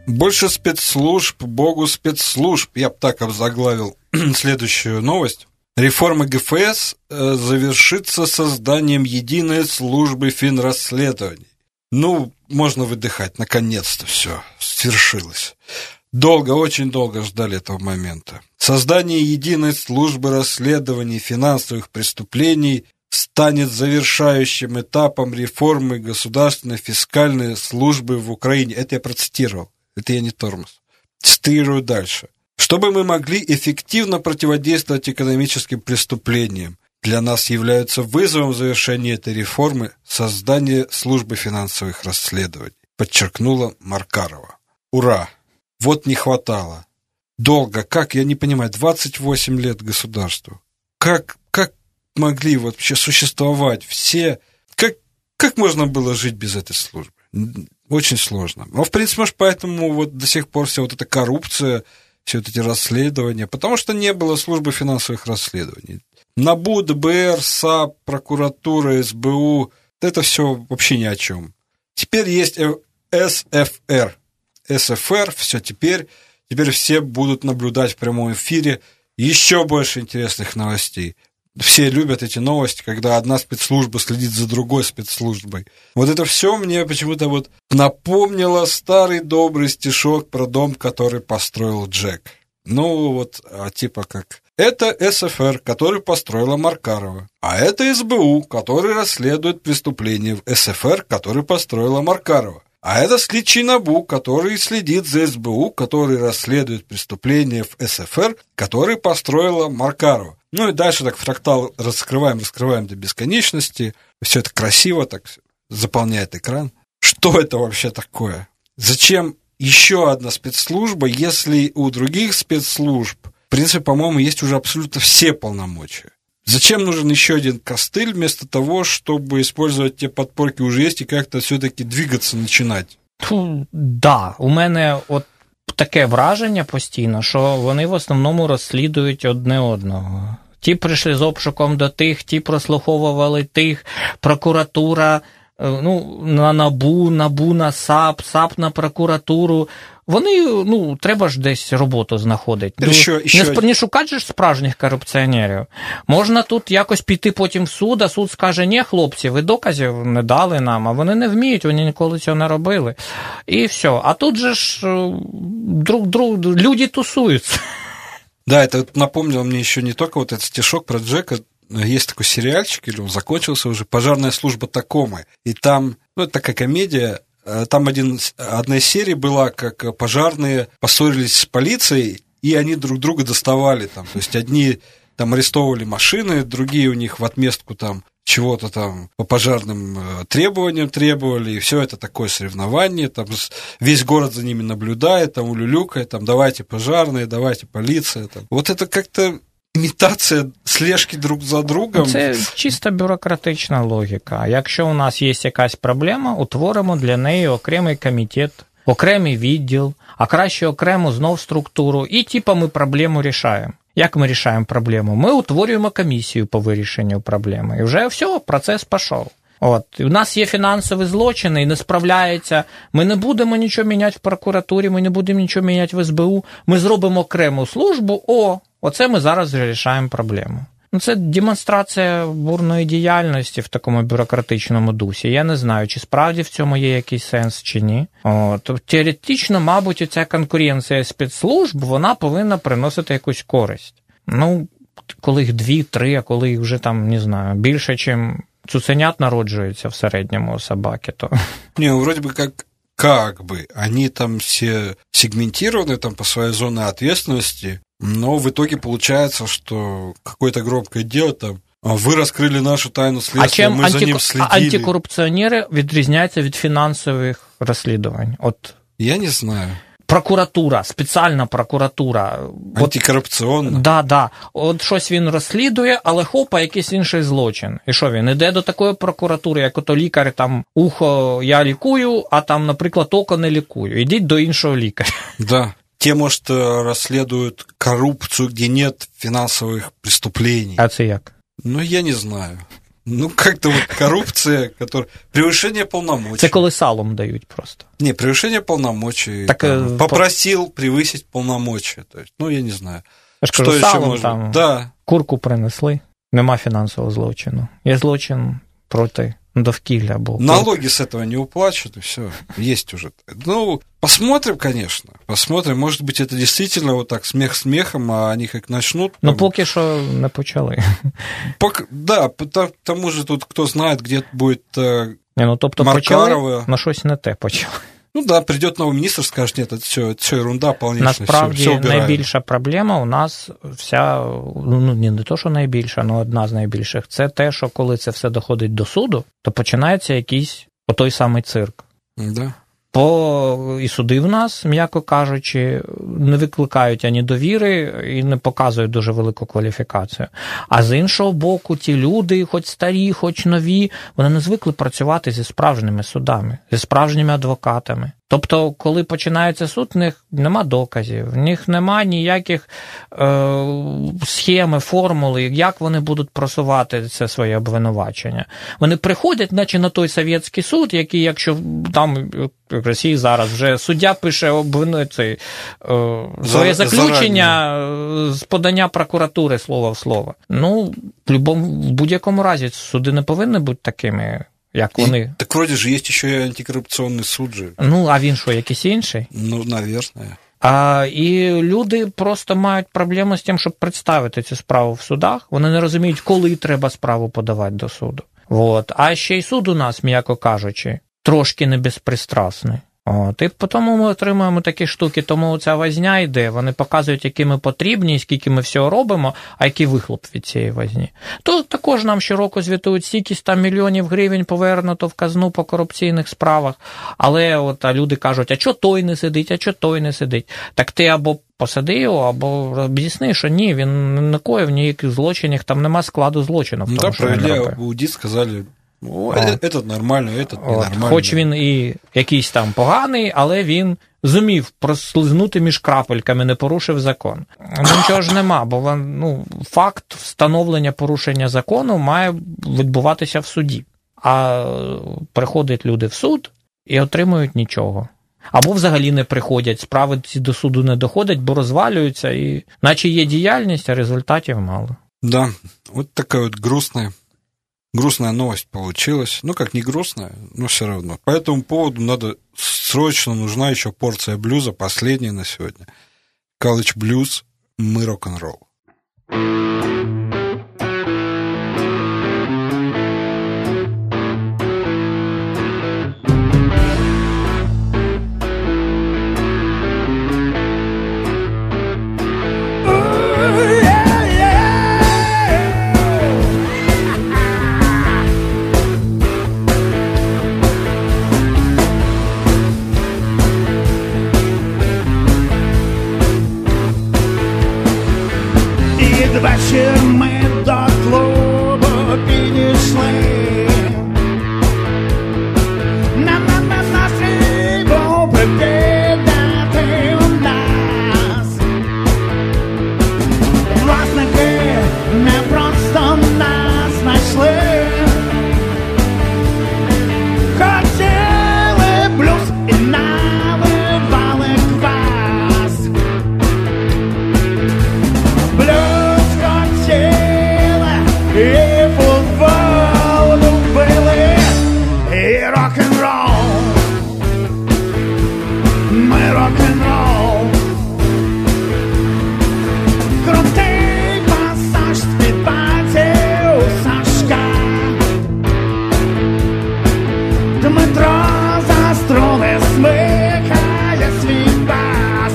Больше спецслужб, богу спецслужб. Я бы так обзаглавил следующую новость. Реформа ГФС завершится созданием единой службы финрасследований. Ну, можно выдыхать, наконец-то все свершилось. Долго, очень долго ждали этого момента. Создание единой службы расследований финансовых преступлений станет завершающим этапом реформы государственной фискальной службы в Украине. Это я процитировал, это я не тормоз. Цитирую дальше. Чтобы мы могли эффективно противодействовать экономическим преступлениям, для нас является вызовом завершения этой реформы создание службы финансовых расследований, подчеркнула Маркарова. Ура! Вот не хватало. Долго, как, я не понимаю, двадцать восемь лет государству. Как, как могли вообще существовать все... Как, как можно было жить без этой службы? Очень сложно. Но, в принципе, может, поэтому вот до сих пор вся вот эта коррупция, все вот эти расследования, потому что не было службы финансовых расследований. НАБУ, ДБР, САП, прокуратура, СБУ, это все вообще ни о чем. Теперь есть СФР. СФР, все теперь, теперь все будут наблюдать в прямом эфире еще больше интересных новостей. Все любят эти новости, когда одна спецслужба следит за другой спецслужбой. Вот это все мне почему-то вот напомнило старый добрый стишок про дом, который построил Джек. Ну вот, типа как... Это СФР, который построила Маркарова. А это СБУ, который расследует преступления в СФР, который построила Маркарова. А это следчий НАБУ, который следит за СБУ, который расследует преступления в СФР, который построила Маркарова. Ну и дальше так фрактал раскрываем, раскрываем до бесконечности. Все это красиво так заполняет экран. Что это вообще такое? Зачем еще одна спецслужба, если у других спецслужб, в принципе, по-моему, есть уже абсолютно все полномочия? Зачем нужен еще один костыль вместо того, чтобы использовать те подпорки уже есть и как-то все-таки двигаться, начинать? Фу, да, у мене от таке враження постійно, що вони в основному розслідують одне одного. Ті прийшли з обшуком до тих, ті прослуховували тих, прокуратура, ну, на НАБУ, НАБУ на САП, САП на прокуратуру. Вони, ну, треба ж десь роботу знаходити. Що, не, що... не шукати ж справжніх корупціонерів. Можна тут якось піти потім в суд, а суд скаже, ні, хлопці, ви доказів не дали нам, а вони не вміють, вони ніколи цього не робили. І все. А тут же ж друг, друг, люди тусуються. Да, это напомнило мне еще не только вот этот стишок про Джека. Есть такой сериальчик, или он закончился уже, «Пожарная служба Такомы». И там, ну, это такая комедия, там один, одна из серий была, как пожарные поссорились с полицией, и они друг друга доставали там. То есть одни там арестовывали машины, другие у них в отместку там чего-то там по пожарным требованиям требовали, и все это такое соревнование, там весь город за ними наблюдает, там улюлюкает, там давайте пожарные, давайте полиция. Там. Вот это как-то імітація слежки друг за другом. Це чисто бюрократична логіка. Якщо у нас є якась проблема, утворимо для неї окремий комітет, окремий відділ, а краще окрему знов структуру, і типа ми проблему рішаємо. Як ми рішаємо проблему? Ми утворюємо комісію по вирішенню проблеми. І вже все, процес пішов. От, у нас є фінансові злочини і не справляється, ми не будемо нічого міняти в прокуратурі, ми не будемо нічого міняти в ес бе у, ми зробимо окрему службу, о, оце ми зараз вирішаємо проблему. Ну, це демонстрація бурної діяльності в такому бюрократичному дусі. Я не знаю, чи справді в цьому є якийсь сенс, чи ні. От, теоретично, мабуть, ця конкуренція спецслужб, вона повинна приносити якусь користь. Ну, коли їх дві, три, а коли їх вже там, не знаю, більше, чим цуценят народжується в середньому у собаки, то... Не, вроде бы как, как бы, они там все сегментированы там по своей зоне ответственности, но в итоге получается, что какое-то громкое дело там, вы раскрыли нашу тайну следствия, мы анти... за ним следили. А антикорупціонери відрізняються від фінансових розслідувань? От... Я не знаю. Прокуратура, спеціальна прокуратура. Антикорупційна. От, да, да. От щось він розслідує, але хопа, якийсь інший злочин. І що він? Іде до такої прокуратури, як ото лікар, там, ухо я лікую, а там, наприклад, око не лікую. Ідіть до іншого лікаря. Да. Те, может, расследуют коррупцию, где нет финансовых преступлений. А це як? Ну, я не знаю. Ну, как-то вот коррупция, которая... Превышение полномочий. Це коли салом дають просто. Не, превышение полномочий. Так, там, по... Попросил превысить полномочия. То есть, ну, я не знаю. Я ж кажу, що салом ще може? там Да. курку принесли. Нема фінансового злочину. Є злочин проти довкілля. Бо налоги с этого не уплачут, и все. Есть уже. Ну, посмотрим, конечно. Посмотрим. Может быть, это действительно вот так смех смехом, а они как начнут... Ну, поки що не почали. Пока, да, к тому же тут кто знает, где будет э, не, ну, тобто Маркарова. Почали, на щось не те почали. Ну да, придет новый министр, скажет, нет, это все, это все ерунда полнейшая. Насправді, все, все найбільша проблема у нас вся, ну не то, що найбільша, але одна з найбільших, це те, що коли це все доходить до суду, то починається якийсь отой самий цирк. Да. По і суди в нас, м'яко кажучи, не викликають ані довіри і не показують дуже велику кваліфікацію. А з іншого боку, ті люди, хоч старі, хоч нові, вони не звикли працювати зі справжніми судами, зі справжніми адвокатами. Тобто, коли починається суд, в них нема доказів, в них нема ніяких е, схеми, формули, як вони будуть просувати це своє обвинувачення. Вони приходять, наче на той совєтський суд, який, якщо там в Росії зараз вже суддя пише обвину, цей, е, своє заключення з подання прокуратури слово в слово. Ну, в, любому, в будь-якому разі суди не повинні бути такими, як вони. И, так вроде же есть еще и антикоррупционный суд же. Ну, а він що, якийсь інший? Ну, наверное. А, і люди просто мають проблему з тим, щоб представити цю справу в судах. Вони не розуміють, коли треба справу подавати до суду. Вот. А ще й суд у нас, м'яко кажучи, трошки не безпристрасний. От, і тому ми отримуємо такі штуки, тому ця возня йде, вони показують, які ми потрібні, скільки ми всього робимо, а який вихлоп від цієї возні. То також нам щороку звітують, стільки сто мільйонів гривень повернуто в казну по корупційних справах, але от, а люди кажуть, а чого той не сидить, а чого той не сидить? Так ти або посади його, або об'ясни, що ні, він не накоїв ніяких злочинів, там нема складу злочину в тому, ну, що він робив. аудит сказали, о, этот нормально, этот ненормально. Хоч він і якийсь там поганий, але він зумів прослизнути між крапельками, не порушив закон. Ну, нічого ж нема, бо ну, факт встановлення порушення закону має відбуватися в суді. А приходять люди в суд і отримують нічого. Або взагалі не приходять, справи ці до суду не доходять, бо розвалюються, і наче є діяльність, а результатів мало. Да, от така от грустная Грустная новость получилась. Ну, как не грустная, но все равно. По этому поводу надо срочно, нужна еще порция блюза, последняя на сегодня. College Blues, мы рок-н-ролл. Вечір ми до клубу підійшли. Нам на настрій був прикидати у нас. Власники не просто нас знайшли. Хотіли блюз і наливали квас. Блюз і футбол любили, і рок-н-рол, ми рок-н-рол. Крутий пасаж з-під пальців Сашка. Дмитро за струни смикає свій бас.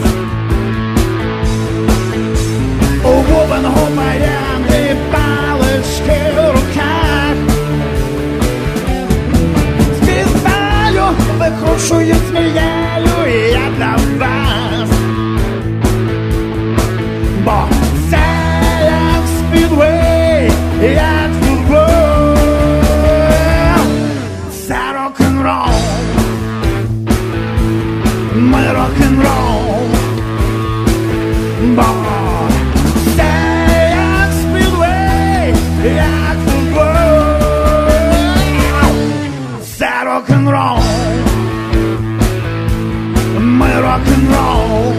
У бубенгу баяни палички в руках. Співаю, викрушую змією, і я для вас. Бо це як спідвей, як футбол. Це рок-н-рол, ми рок-н-рол. Бо як футбол. rock and roll.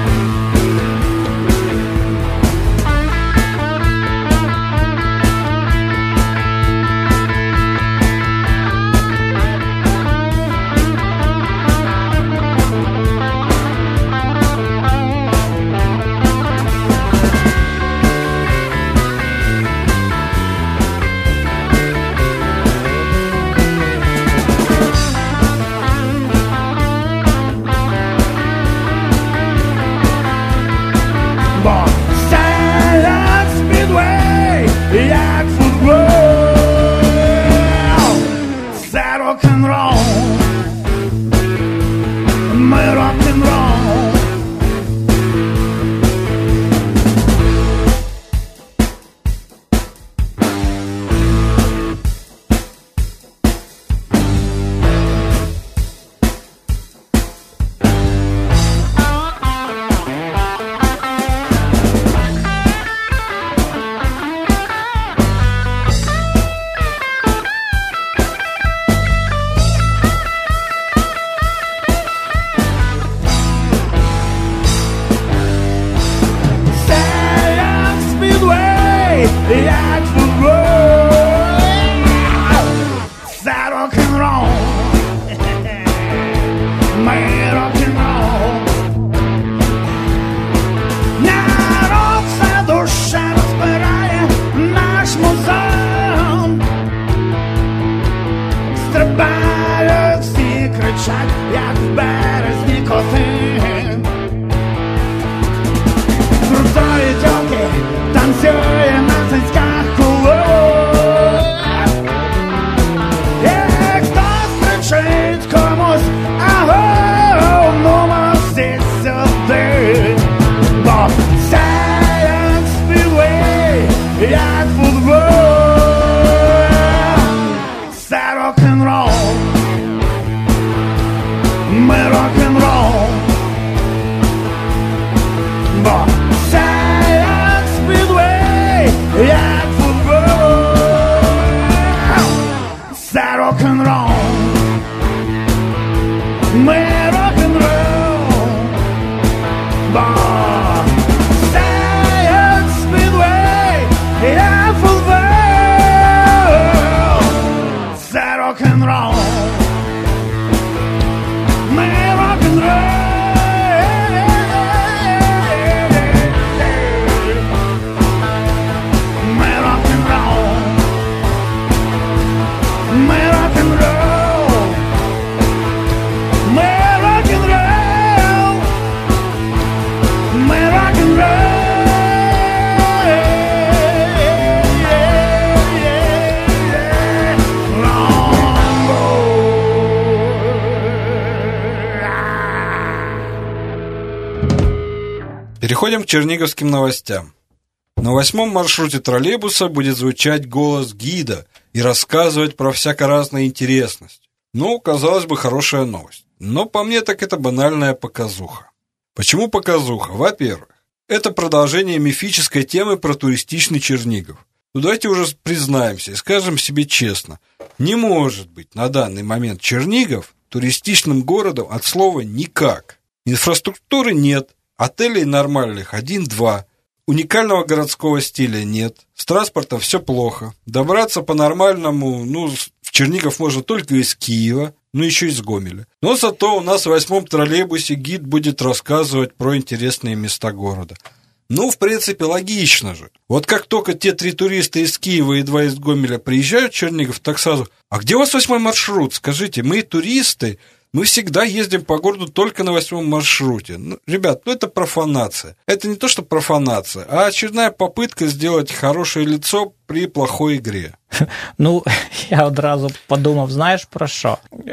Переходим к черниговским новостям. На восьмом маршруте троллейбуса будет звучать голос гида и рассказывать про всяко-разные интересности. Ну, казалось бы, хорошая новость. Но по мне так это банальная показуха. Почему показуха? Во-первых, это продолжение мифической темы про туристичный Чернигов. Ну давайте уже признаемся и скажем себе честно. Не может быть на данный момент Чернигов туристичным городом от слова «никак». Инфраструктуры нет, отелей нормальных один-два, уникального городского стиля нет, с транспортом все плохо, добраться по-нормальному, ну, в Чернигов можно только из Киева, ну, еще из Гомеля. Но зато у нас в восьмом троллейбусе гид будет рассказывать про интересные места города. Ну, в принципе, логично же. Вот как только те три туриста из Киева и два из Гомеля приезжают в Чернигов, так сразу: а где у вас восьмой маршрут? Скажите, мы туристы, мы всегда ездим по городу только на восьмом маршруте. Ну, ребят, ну это профанация. Это не то, что профанация, а очередная попытка сделать хорошее лицо при плохой игре. Ну, я одразу подумав, знаєш про що?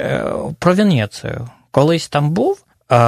Про Венецію. Колись там був,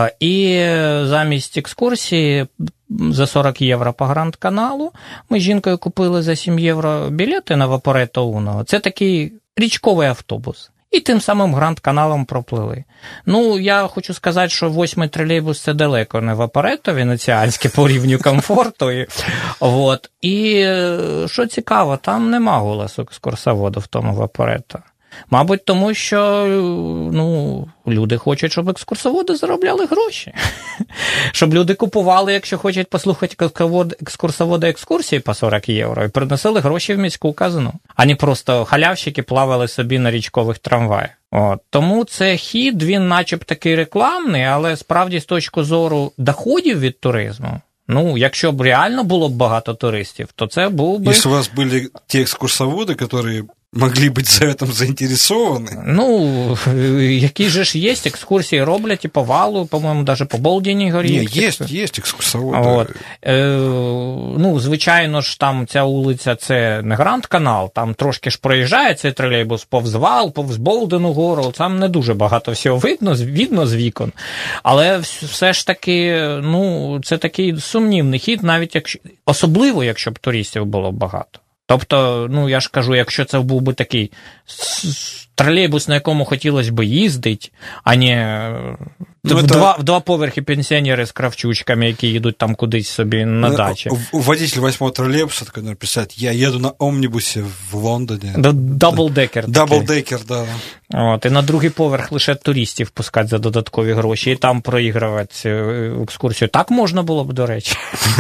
і замість екскурсії за сорок євро по Гранд-каналу ми з жінкою купили за сім євро білети на Вапоретто Уно. Це такий річковий автобус. І тим самим Гранд-каналом проплили. Ну, я хочу сказати, що восьмий тролейбус – це далеко не Вапоретто венеціанське по рівню комфорту. І, от. І що цікаво, там нема голосу екскурсоводу в тому Вапоретто. Мабуть, тому що, ну, люди хочуть, щоб екскурсоводи заробляли гроші. Щоб люди купували, якщо хочуть послухати екскурсовода екскурсії по сорок євро, і приносили гроші в міську казну, а не просто халявщики плавали собі на річкових трамваях. От. Тому це хід, він начеб такий рекламний, але справді з точки зору доходів від туризму, ну, якщо б реально було б багато туристів, то це був би... Якщо у вас були ті екскурсоводи, які могли бути за цим заінтересовані. Ну, які же ж є, екскурсії роблять і по Валу, по-моєму, навіть по Болдіній горі. Ні, є, є екскурсоводи. От. Е, ну, звичайно ж, там ця вулиця, це не Гранд-канал, там трошки ж проїжджає цей тролейбус повз Вал, повз Болдену гору, там не дуже багато всього видно, видно з вікон. Але все ж таки, ну, це такий сумнівний хід, навіть якщо, особливо, якщо б туристів було багато. Тобто, ну, я ж кажу, якщо це був би такий тролейбус, на якому хотілося б їздити, а не ну, в, це... два, в два поверхи пенсіонери з кравчучками, які їдуть там кудись собі на дачі. Водитель восьмого тролейбуса такой, наверное, представляет, я еду на омнибусі в Лондоні. Даблдекер. Даблдекер, да. От, і на другий поверх лише туристів пускати за додаткові гроші, і там проігрувати екскурсію. Так можна було б, до речі.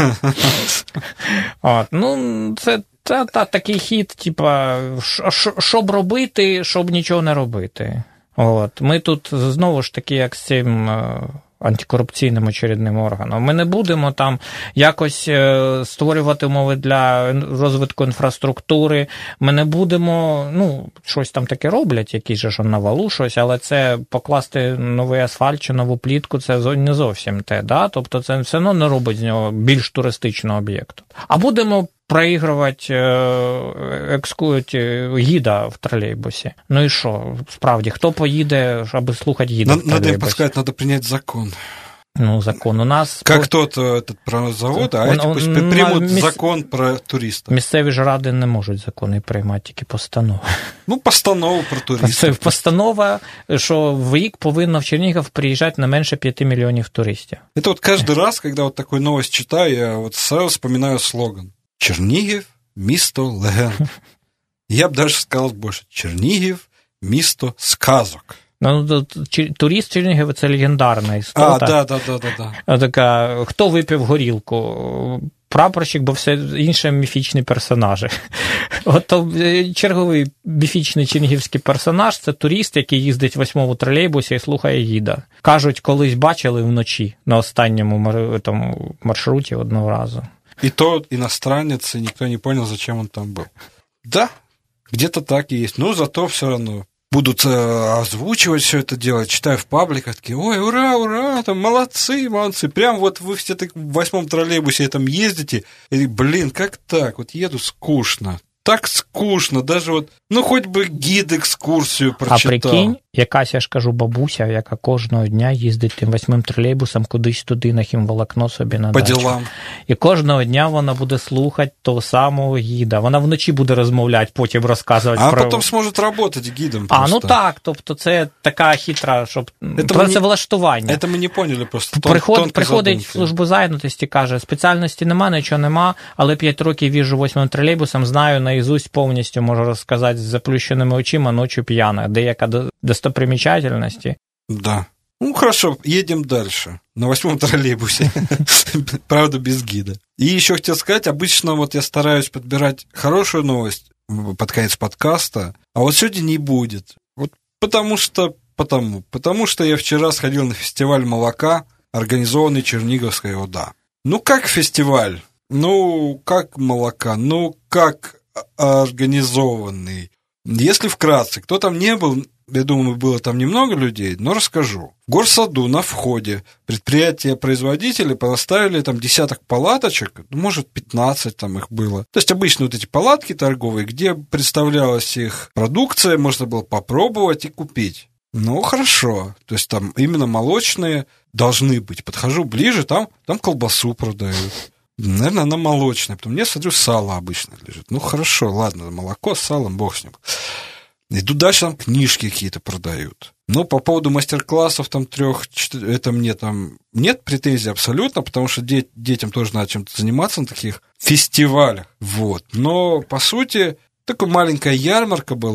От, ну, це Це та, такий хід, типа, щоб робити, щоб нічого не робити. От. Ми тут, знову ж таки, як з цим антикорупційним очередним органом, ми не будемо там якось створювати умови для розвитку інфраструктури, ми не будемо, ну, щось там таке роблять, якісь же ж на Валу щось, але це покласти новий асфальт чи нову плітку, це не зовсім те, да? Тобто це все одно не робить з нього більш туристичного об'єкту. А будемо проігрувати екскурсію гіда в тролейбусі. Ну і що? Справді, хто поїде, аби слухати гіда в тролейбусі? Надо им подсказать, надо принять закон. Ну, закон у нас... Как тот этот, про завод, а эти пусть примут міс... закон про туристов. Місцеві ж ради не можуть закони приймати, тільки постанови. Ну, постанову про туристів. Це постанова, що в рік повинно в Чернігів приїжджати не менше п'яти мільйонів туристів. Это вот каждый раз, когда вот такую новость читаю, я вот сразу вспоминаю слоган. Чернігів – місто легенд. Я б даже сказал больше. Чернігів – місто сказок. Ну, турист Чернігів – це легендарна істота. А, да, да, да, да, да. Така, хто випив горілку? Прапорщик, бо все інші міфічні персонажі. От черговий міфічний чернігівський персонаж – це турист, який їздить в восьмому тролейбусі і слухає гіда. Кажуть, колись бачили вночі на останньому тому, маршруті одного разу. И то иностранец, и никто не понял, зачем он там был. Да, где-то так и есть. Но зато все равно будут э, озвучивать все это дело. Читаю в пабликах, такие, ой, ура, ура, там молодцы, молодцы. Прям вот вы все так в восьмом троллейбусе там ездите. И, блин, как так? Вот еду скучно. Так скучно, даже вот, ну, хоть би гід екскурсію прочитав. А прикинь, якась, я ж кажу, бабуся, яка кожного дня їздить тим восьмим тролейбусом кудись туди на хімволокно собі на По дачу. ділам. І кожного дня вона буде слухати того самого гіда. Вона вночі буде розмовляти, потім розказувати а про... А потім зможе працювати гідом просто. А, ну так, тобто це така хитра, щоб... працевлаштування. Це ми не поняли просто. Приход, приходить в службу зайнятості, каже, спеціальності нема, нічого нема, але п'ять років їжджу восьмим тролейбусом, знаю наізусть повністю, можу розказати з заплющеними очима, ночі п'яна, деяка достопримечательності. Да. Ну, хорошо, едем дальше. На восьмом троллейбусе. Правда, без гида. И еще хотел сказать, обычно вот я стараюсь подбирать хорошую новость под конец подкаста, а вот сегодня не будет. Вот потому что, потому, потому что я вчера сходил на фестиваль молока, организованный Черниговской ОДА. Ну, как фестиваль? Ну, как молока? Ну, как организованный? Если вкратце, кто там не был, я думаю, было там немного людей, но расскажу. В горсаду на входе предприятия-производители поставили там десяток палаточек, может, пятнадцать там их было. То есть обычно вот эти палатки торговые, где представлялась их продукция, можно было попробовать и купить. Ну, хорошо. То есть там именно молочные должны быть. Подхожу ближе, там, там колбасу продают. Наверное, она молочная. Потом я смотрю, сало обычно лежит. Ну, хорошо, ладно, молоко с салом, бог с ним. Иду дальше, там книжки какие-то продают. Но по поводу мастер-классов там трех, это мне там нет претензий абсолютно, потому что де- детям тоже надо чем-то заниматься на таких фестивалях. Вот. Но, по сути, такая маленькая ярмарка была.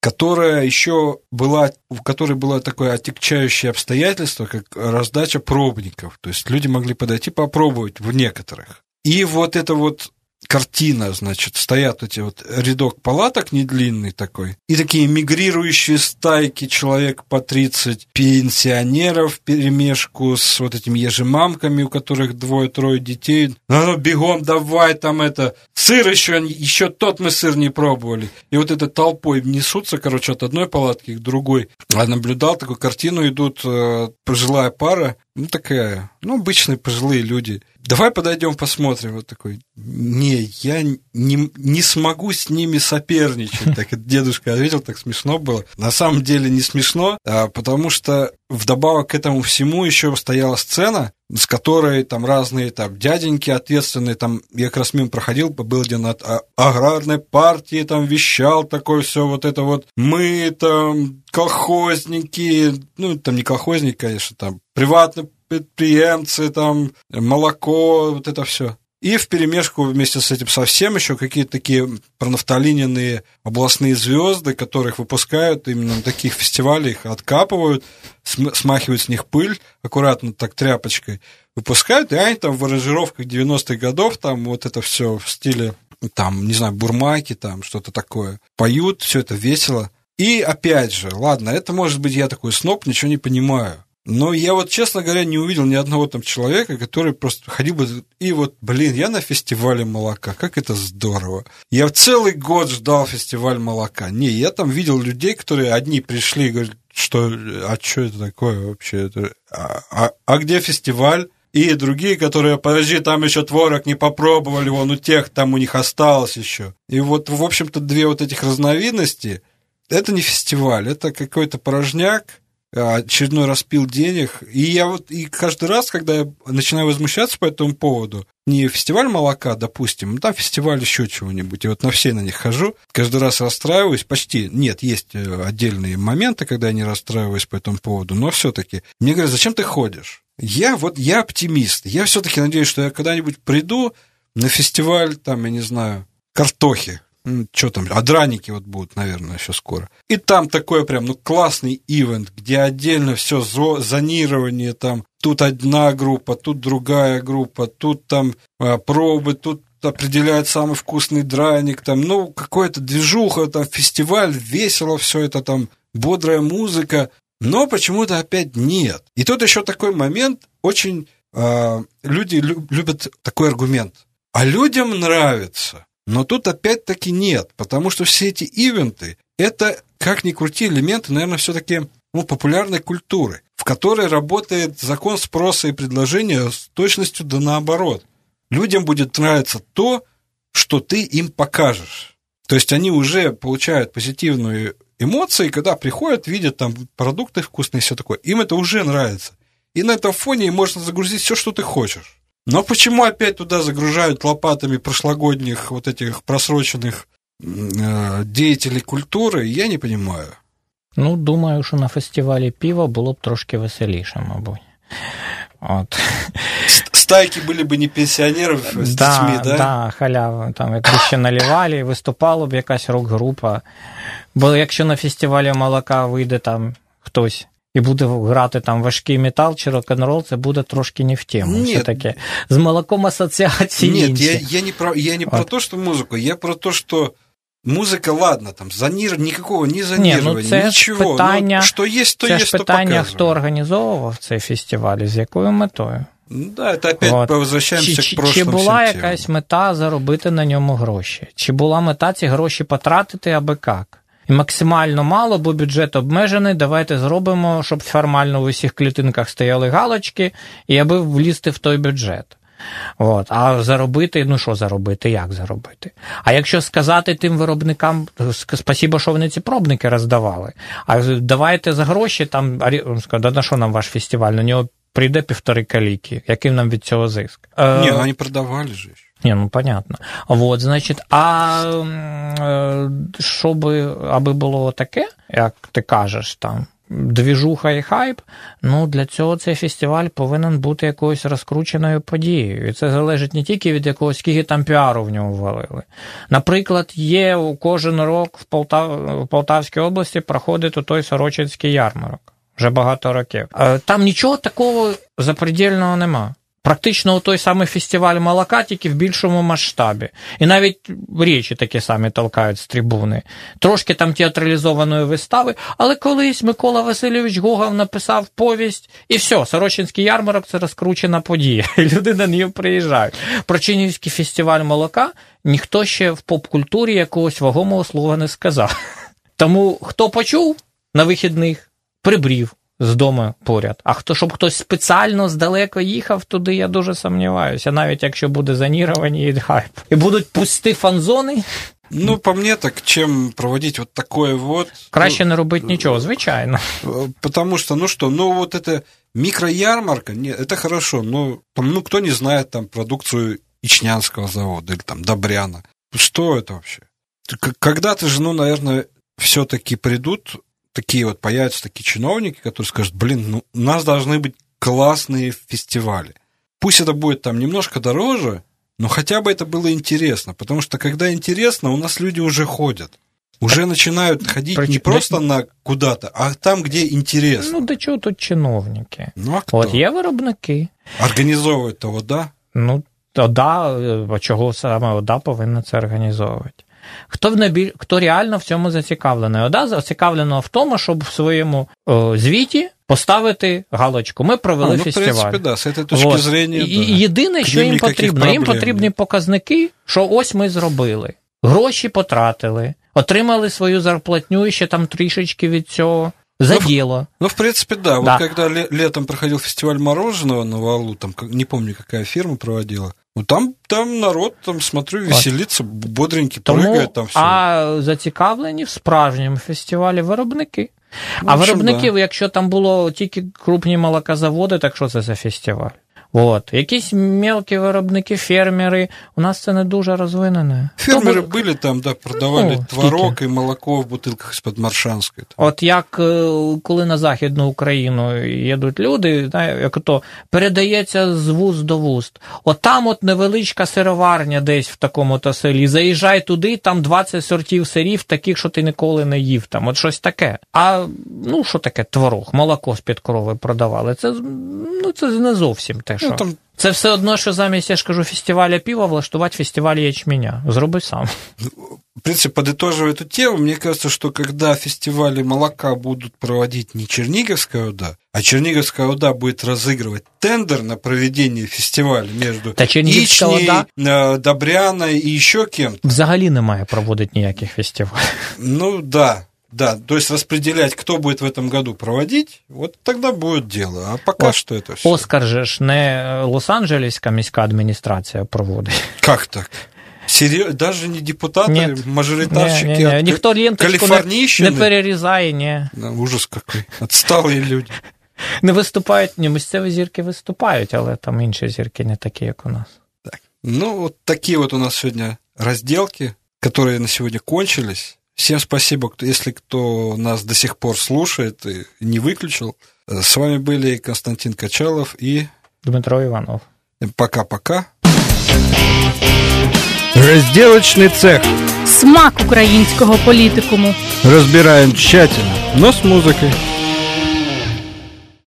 которая еще была, в которой было такое отягчающее обстоятельство, как раздача пробников. То есть люди могли подойти попробовать в некоторых. И вот эта вот картина, значит, стоят эти вот рядок палаток недлинный такой, и такие мигрирующие стайки, человек по тридцать пенсионеров вперемешку с вот этими ежемамками, у которых двое-трое детей. Ну, бегом, давай там это, сыр еще, еще тот мы сыр не пробовали. И вот этой толпой несутся, короче, от одной палатки к другой. Я наблюдал такую картину, идут э, пожилая пара, ну, такая, ну, обычные пожилые люди. Давай подойдем посмотрим. Вот такой, не, я не, не смогу с ними соперничать. Так дедушка ответил, так смешно было. На самом деле не смешно, потому что вдобавок к этому всему еще стояла сцена, с которой там разные там дяденьки ответственные, там я как раз мимо проходил, был один от аграрной партии, там вещал такое все вот это вот, мы там колхозники, ну там не колхозники, конечно, там приватные предприемцы, там молоко, вот это все. И вперемешку вместе с этим совсем еще какие-то такие пронафталиненные областные звезды, которых выпускают именно на таких фестивалях, их откапывают, смахивают с них пыль, аккуратно так тряпочкой, выпускают, и они там в аранжировках девяностых годов, там вот это все в стиле, там, не знаю, бурмаки, там что-то такое, поют, все это весело. И опять же, ладно, это может быть я такой сноб, ничего не понимаю. Но я вот, честно говоря, не увидел ни одного там человека, который просто ходил бы и вот, блин, я на фестивале молока, как это здорово. Я целый год ждал фестиваль молока. Не, я там видел людей, которые одни пришли и говорят, что, а что это такое вообще? Это, а, а, а где фестиваль? И другие, которые, подожди, там еще творог не попробовали, вон у тех, там у них осталось еще. И вот, в общем-то, две вот этих разновидности, это не фестиваль, это какой-то порожняк, очередной распил денег. И я вот и каждый раз, когда я начинаю возмущаться по этому поводу, не фестиваль молока, допустим, там фестиваль еще чего-нибудь, и вот на все на них хожу, каждый раз расстраиваюсь, почти, нет, есть отдельные моменты, когда я не расстраиваюсь по этому поводу, но все-таки мне говорят, зачем ты ходишь? Я вот, я оптимист, я все-таки надеюсь, что я когда-нибудь приду на фестиваль, там, я не знаю, картохи, что там, а драники вот будут, наверное, еще скоро. И там такой прям, ну, классный ивент, где отдельно все зонирование, там, тут одна группа, тут другая группа, тут там а, пробы, тут определяет самый вкусный драник, там, ну, какая-то движуха, там, фестиваль, весело все это, там, бодрая музыка, но почему-то опять нет. И тут еще такой момент, очень а, люди любят такой аргумент. А людям нравится. Но тут опять-таки нет, потому что все эти ивенты – это, как ни крути, элементы, наверное, все-таки ну, популярной культуры, в которой работает закон спроса и предложения с точностью да наоборот. Людям будет нравиться то, что ты им покажешь. То есть они уже получают позитивные эмоции, когда приходят, видят там продукты вкусные и все такое. Им это уже нравится. И на этом фоне им можно загрузить все, что ты хочешь. Но почему опять туда загружают лопатами прошлогодних вот этих просроченных э, деятелей культури, я не понимаю. Ну, думаю, що на фестивалі пива було б трошки веселіше, мабуть. От. Стайки були б не пенсіонерів з да, дітьми, да? Да, халява. Там якби ще наливали, виступала б якась рок-група. Бо якщо на фестивалі молока вийде там хтось і буде грати там важкий метал чи рок-н-рол, це буде трошки не в тему. Нет. Все-таки з молоком асоціації Нет, інші. я, я не, про, я не про то, что музыку, я про то, что музыка, ладно, там, зонир... никакого не зонирования, Ні, ну це ничего. Питання, ну, что есть, то це есть, ж то питання, показываем. хто організовував цей фестиваль і з якою метою. Ну, да, это опять От. возвращаемся Чи, к прошлым чи була всем якась темам. мета заробити на ньому гроші? Чи була мета ці гроші потратити аби як? І максимально мало, бо бюджет обмежений, давайте зробимо, щоб формально в усіх клітинках стояли галочки, і аби влізти в той бюджет. От. А заробити, ну що заробити, як заробити? А якщо сказати тим виробникам, спасибо, що вони ці пробники роздавали, а давайте за гроші, там, да на що нам ваш фестиваль, на нього прийде півтори каліки, який нам від цього зиск? Не, ну они продавали же. Не, ну понятно. Вот, значить, а щоб, аби було таке, як ти кажеш, там, двіжуха і хайп, ну для цього цей фестиваль повинен бути якоюсь розкрученою подією. І це залежить не тільки від якогось, скільки там піару в нього ввалили. Наприклад, є кожен рік в, Полтав... в Полтавській області проходить той Сорочинський ярмарок. Вже багато років. Там нічого такого запредельного нема. Практично той самий фестиваль молока, тільки в більшому масштабі. І навіть речі такі самі толкають з трибуни. Трошки там театралізованої вистави, але колись Микола Васильович Гогов написав повість, і все, Сорочинський ярмарок – це розкручена подія. І люди на неї приїжджають. Про Чернігівський фестиваль молока ніхто ще в поп-культурі якогось вагомого слова не сказав. Тому хто почув на вихідних, прибрів з дому поряд. А хто, щоб хтось спеціально здалеко їхав туди, я дуже сумніваюся. Навіть якщо буде зоніровані і хайп. І будуть пусті фан-зони. Ну, по мне, так чем проводить вот такое вот... Краще ну, не робити нічого, звичайно. Потому что, ну что, ну вот это микроярмарка, нет, это хорошо, но там, ну кто не знает там продукцию Ичнянского завода или там Добряна. Что это вообще? Когда-то же, ну, наверное, все-таки придут такие вот, появятся такие чиновники, которые скажут, блин, ну, у нас должны быть классные фестивали. Пусть это будет там немножко дороже, но хотя бы это было интересно, потому что когда интересно, у нас люди уже ходят. Уже начинают ходить Причем, не просто да, на куда-то, а там, где интересно. Ну, до чого тут чиновники? Ну, а хто? От є виробники. Організовують то ОДА? Ну, ОДА, а чого саме ОДА повинна це організовувати? Хто, в найбіль... Хто реально в цьому зацікавлений? ОДА зацікавлено в тому, щоб в своєму о, звіті поставити галочку. Ми провели а, ну, фестиваль. В принципі, да, з цієї точки вот. зрення, І, да. Єдине, що їм потрібно, їм потрібні показники, що ось ми зробили. Гроші потратили, отримали свою зарплатню і ще там трішечки від цього. За ну, дело. Ну, в принципе, да. Вот да. Когда летом проходил фестиваль мороженого на Валу, там, не помню, какая фирма проводила, ну, там, там народ, там, смотрю, веселится, бодренький, Тому, прыгает там все. А зацікавлені в справжньому фестивалі виробники. Ну, а виробники, да. Якщо там було тільки крупні молокозаводи, так що це за фестиваль? Вот. Якісь мелкі виробники, фермери, у нас це не дуже розвинене. Фермери Тобто... були там, да, продавали ну, творог скільки? І молоко в бутилках з-під Маршанської. Там. От як коли на Західну Україну їдуть люди, як то передається з вуст до вуст. От там от невеличка сироварня десь в такому-то селі, заїжджай туди, там двадцять сортів сирів, таких, що ти ніколи не їв. Там. От щось таке. А, ну, що таке творог, молоко з-під корови продавали. Це, ну, це не зовсім те, що... Ну, там... Це все одно, що замість, я ж кажу, фестиваля пива влаштувати фестиваль ячменя. Зроби сам. В принципе, подытоживая эту тему, мне кажется, что когда фестивали молока будут проводить не Черниговская ОДА, а Черниговская ОДА будет разыгрывать тендер на проведение фестиваля между Ичней, Добряной и еще кем-то. Взагалі немає проводити ніяких фестивалів. Ну, да. Да, то есть распределять, кто будет в этом году проводить, вот тогда будет дело. А пока вот, что это все. Оскар же ж не Лос-Анджелеська міська адміністрація проводить. Как так? Серьезно? Даже не депутаты, нет, мажоритарщики, не, не, не. Ніхто ленточку калифорнийщины? Не перерізає, ні. Да, ужас какой. Отсталые люди. Не виступають, ні, місцеві зірки виступають, але там інші зірки не такі, як у нас. Так. Ну, вот такие вот у нас сегодня разделки, которые на сегодня кончились. Всем спасибо, если кто нас до сих пор слушает и не выключил. С вами были Константин Качалов и Дмитро Иванов. Пока-пока. Разделочный цех. Смак українського політикуму. Разбираем тщательно, но с музыкой.